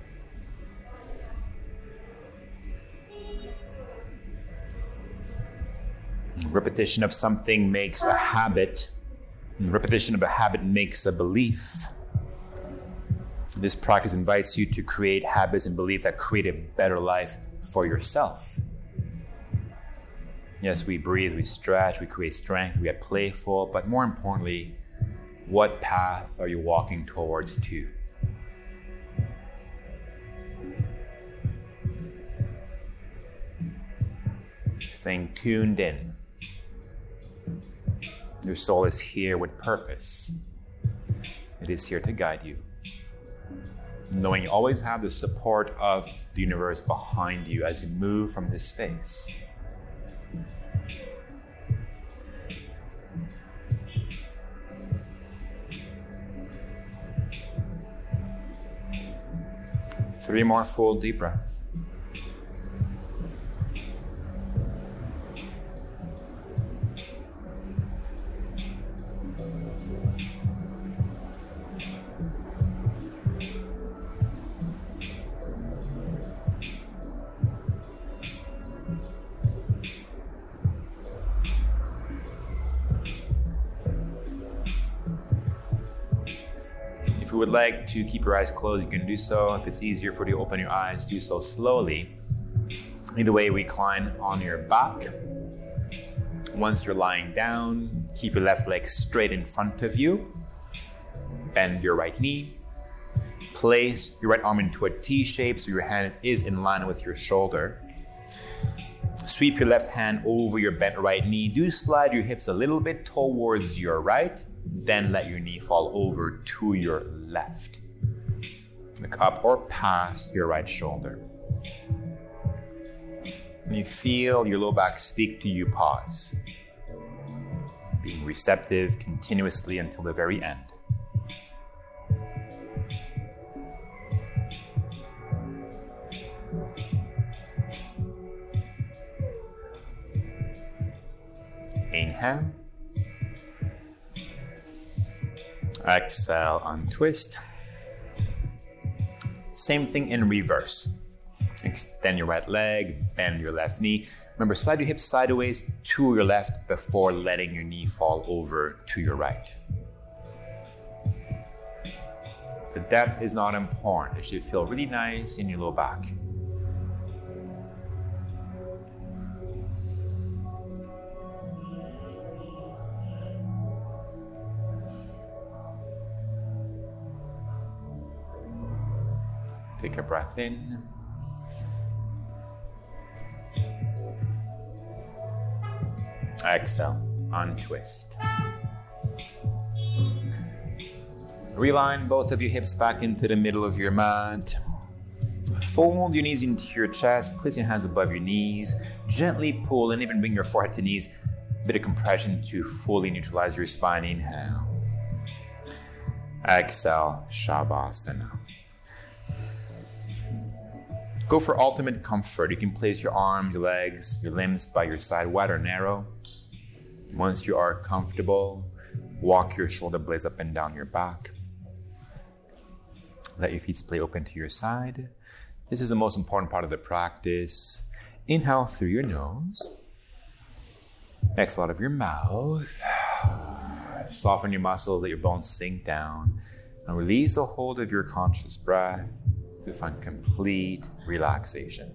[SPEAKER 2] Repetition of something makes a habit. And repetition of a habit makes a belief. This practice invites you to create habits and beliefs that create a better life for yourself. Yes, we breathe, we stretch, we create strength, we get playful, but more importantly, what path are you walking towards to? Staying tuned in. Your soul is here with purpose. It is here to guide you. Knowing you always have the support of the universe behind you as you move from this space. Three more full deep breaths. If you would like to keep your eyes closed, you can do so. If it's easier for you to open your eyes, do so slowly. Either way, recline on your back. Once you're lying down, keep your left leg straight in front of you. Bend your right knee. Place your right arm into a T shape so your hand is in line with your shoulder. Sweep your left hand over your bent right knee. Do slide your hips a little bit towards your right. Then let your knee fall over to your left. Look up or past your right shoulder. When you feel your low back speak to you, pause. Being receptive continuously until the very end. Inhale. Exhale, untwist. Same thing in reverse. Extend your right leg, bend your left knee. Remember, slide your hips sideways to your left before letting your knee fall over to your right. The depth is not important. It should feel really nice in your low back. Take a breath in. Exhale, untwist. Realign both of your hips back into the middle of your mat. Fold your knees into your chest. Place your hands above your knees. Gently pull and even bring your forehead to knees. A bit of compression to fully neutralize your spine. Inhale. Exhale, Shavasana. Go for ultimate comfort. You can place your arms, your legs, your limbs by your side, wide or narrow. Once you are comfortable, walk your shoulder blades up and down your back. Let your feet splay open to your side. This is the most important part of the practice. Inhale through your nose. Exhale out of your mouth. Soften your muscles, let your bones sink down. And release the hold of your conscious breath to find complete relaxation.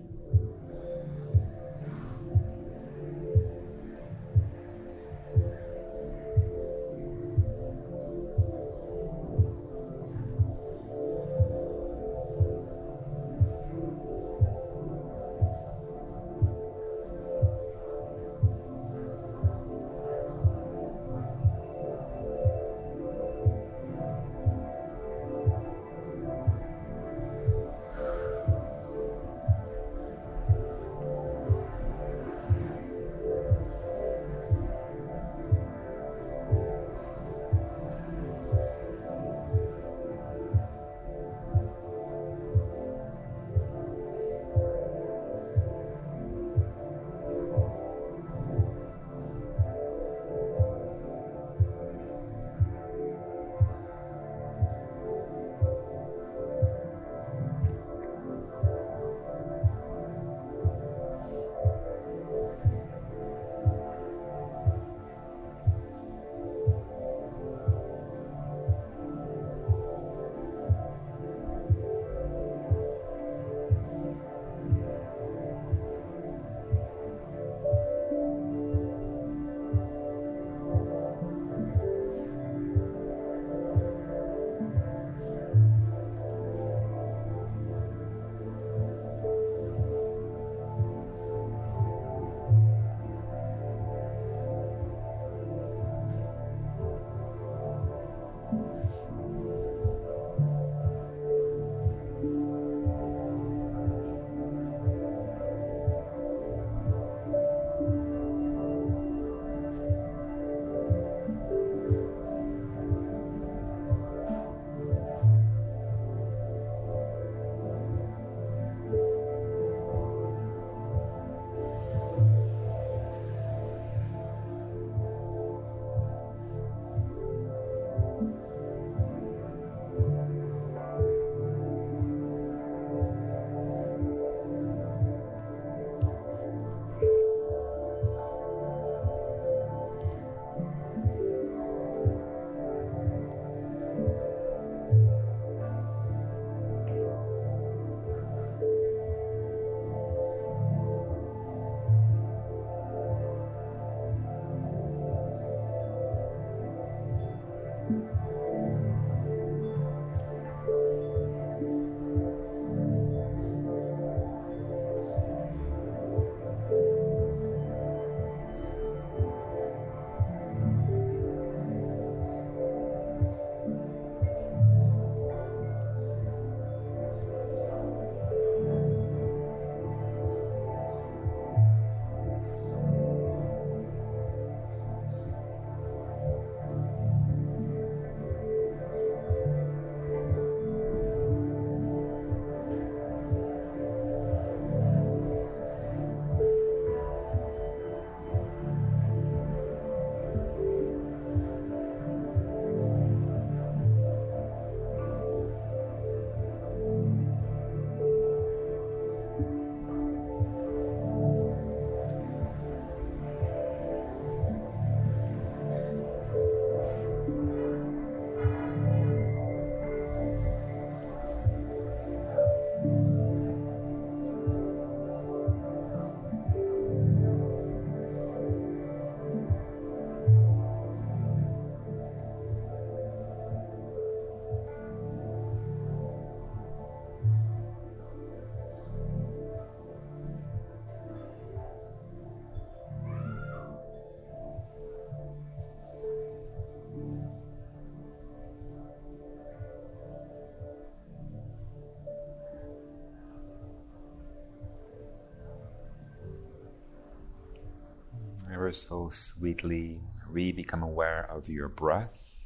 [SPEAKER 2] ever so sweetly become aware of your breath.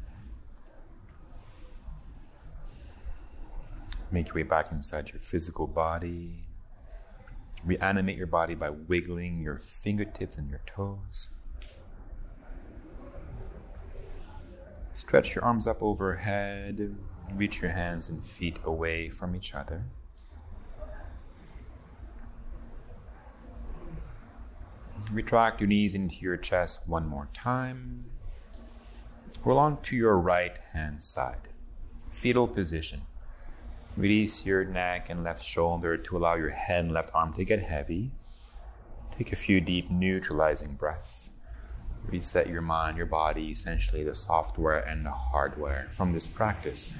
[SPEAKER 2] Make your way back inside your physical body. Reanimate your body by wiggling your fingertips and your toes. Stretch your arms up overhead. Reach your hands and feet away from each other. Retract your knees into your chest one more time. Roll onto your right hand side. Fetal position. Release your neck and left shoulder to allow your head and left arm to get heavy. Take a few deep neutralizing breaths. Reset your mind, your body, essentially the software and the hardware from this practice.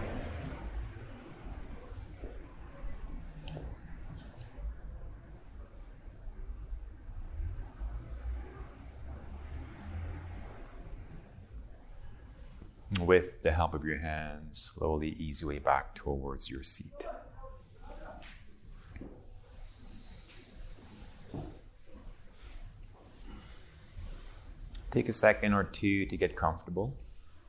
[SPEAKER 2] With the help of your hands, slowly ease your way back towards your seat. Take a second or two to get comfortable.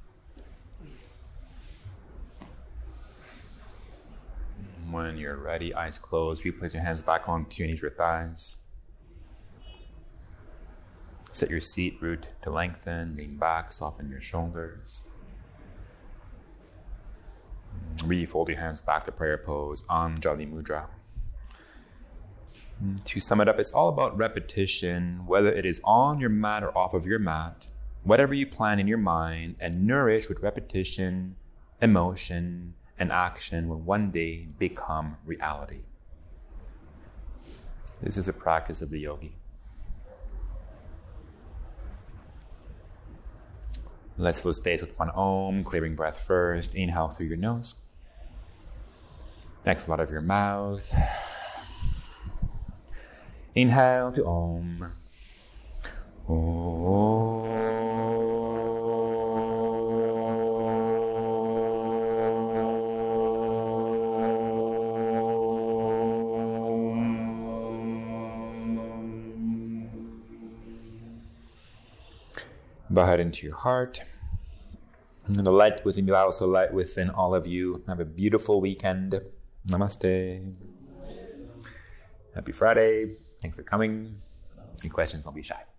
[SPEAKER 2] When you're ready, eyes closed, replace your hands back onto your knees or thighs. Set your seat root to lengthen, lean back, soften your shoulders. Refold your hands back to prayer pose, Anjali Mudra. To sum it up, it's all about repetition, whether it is on your mat or off of your mat, whatever you plan in your mind, and nourish with repetition, emotion, and action will one day become reality. This is a practice of the yogi. Let's fill space with one Om, clearing breath first. Inhale through your nose. Exhale out of your mouth. Inhale to Om. Om. Bow head into your heart. And the light within you, also light within all of you. Have a beautiful weekend. Namaste. Happy Friday. Thanks for coming. Any questions, don't be shy.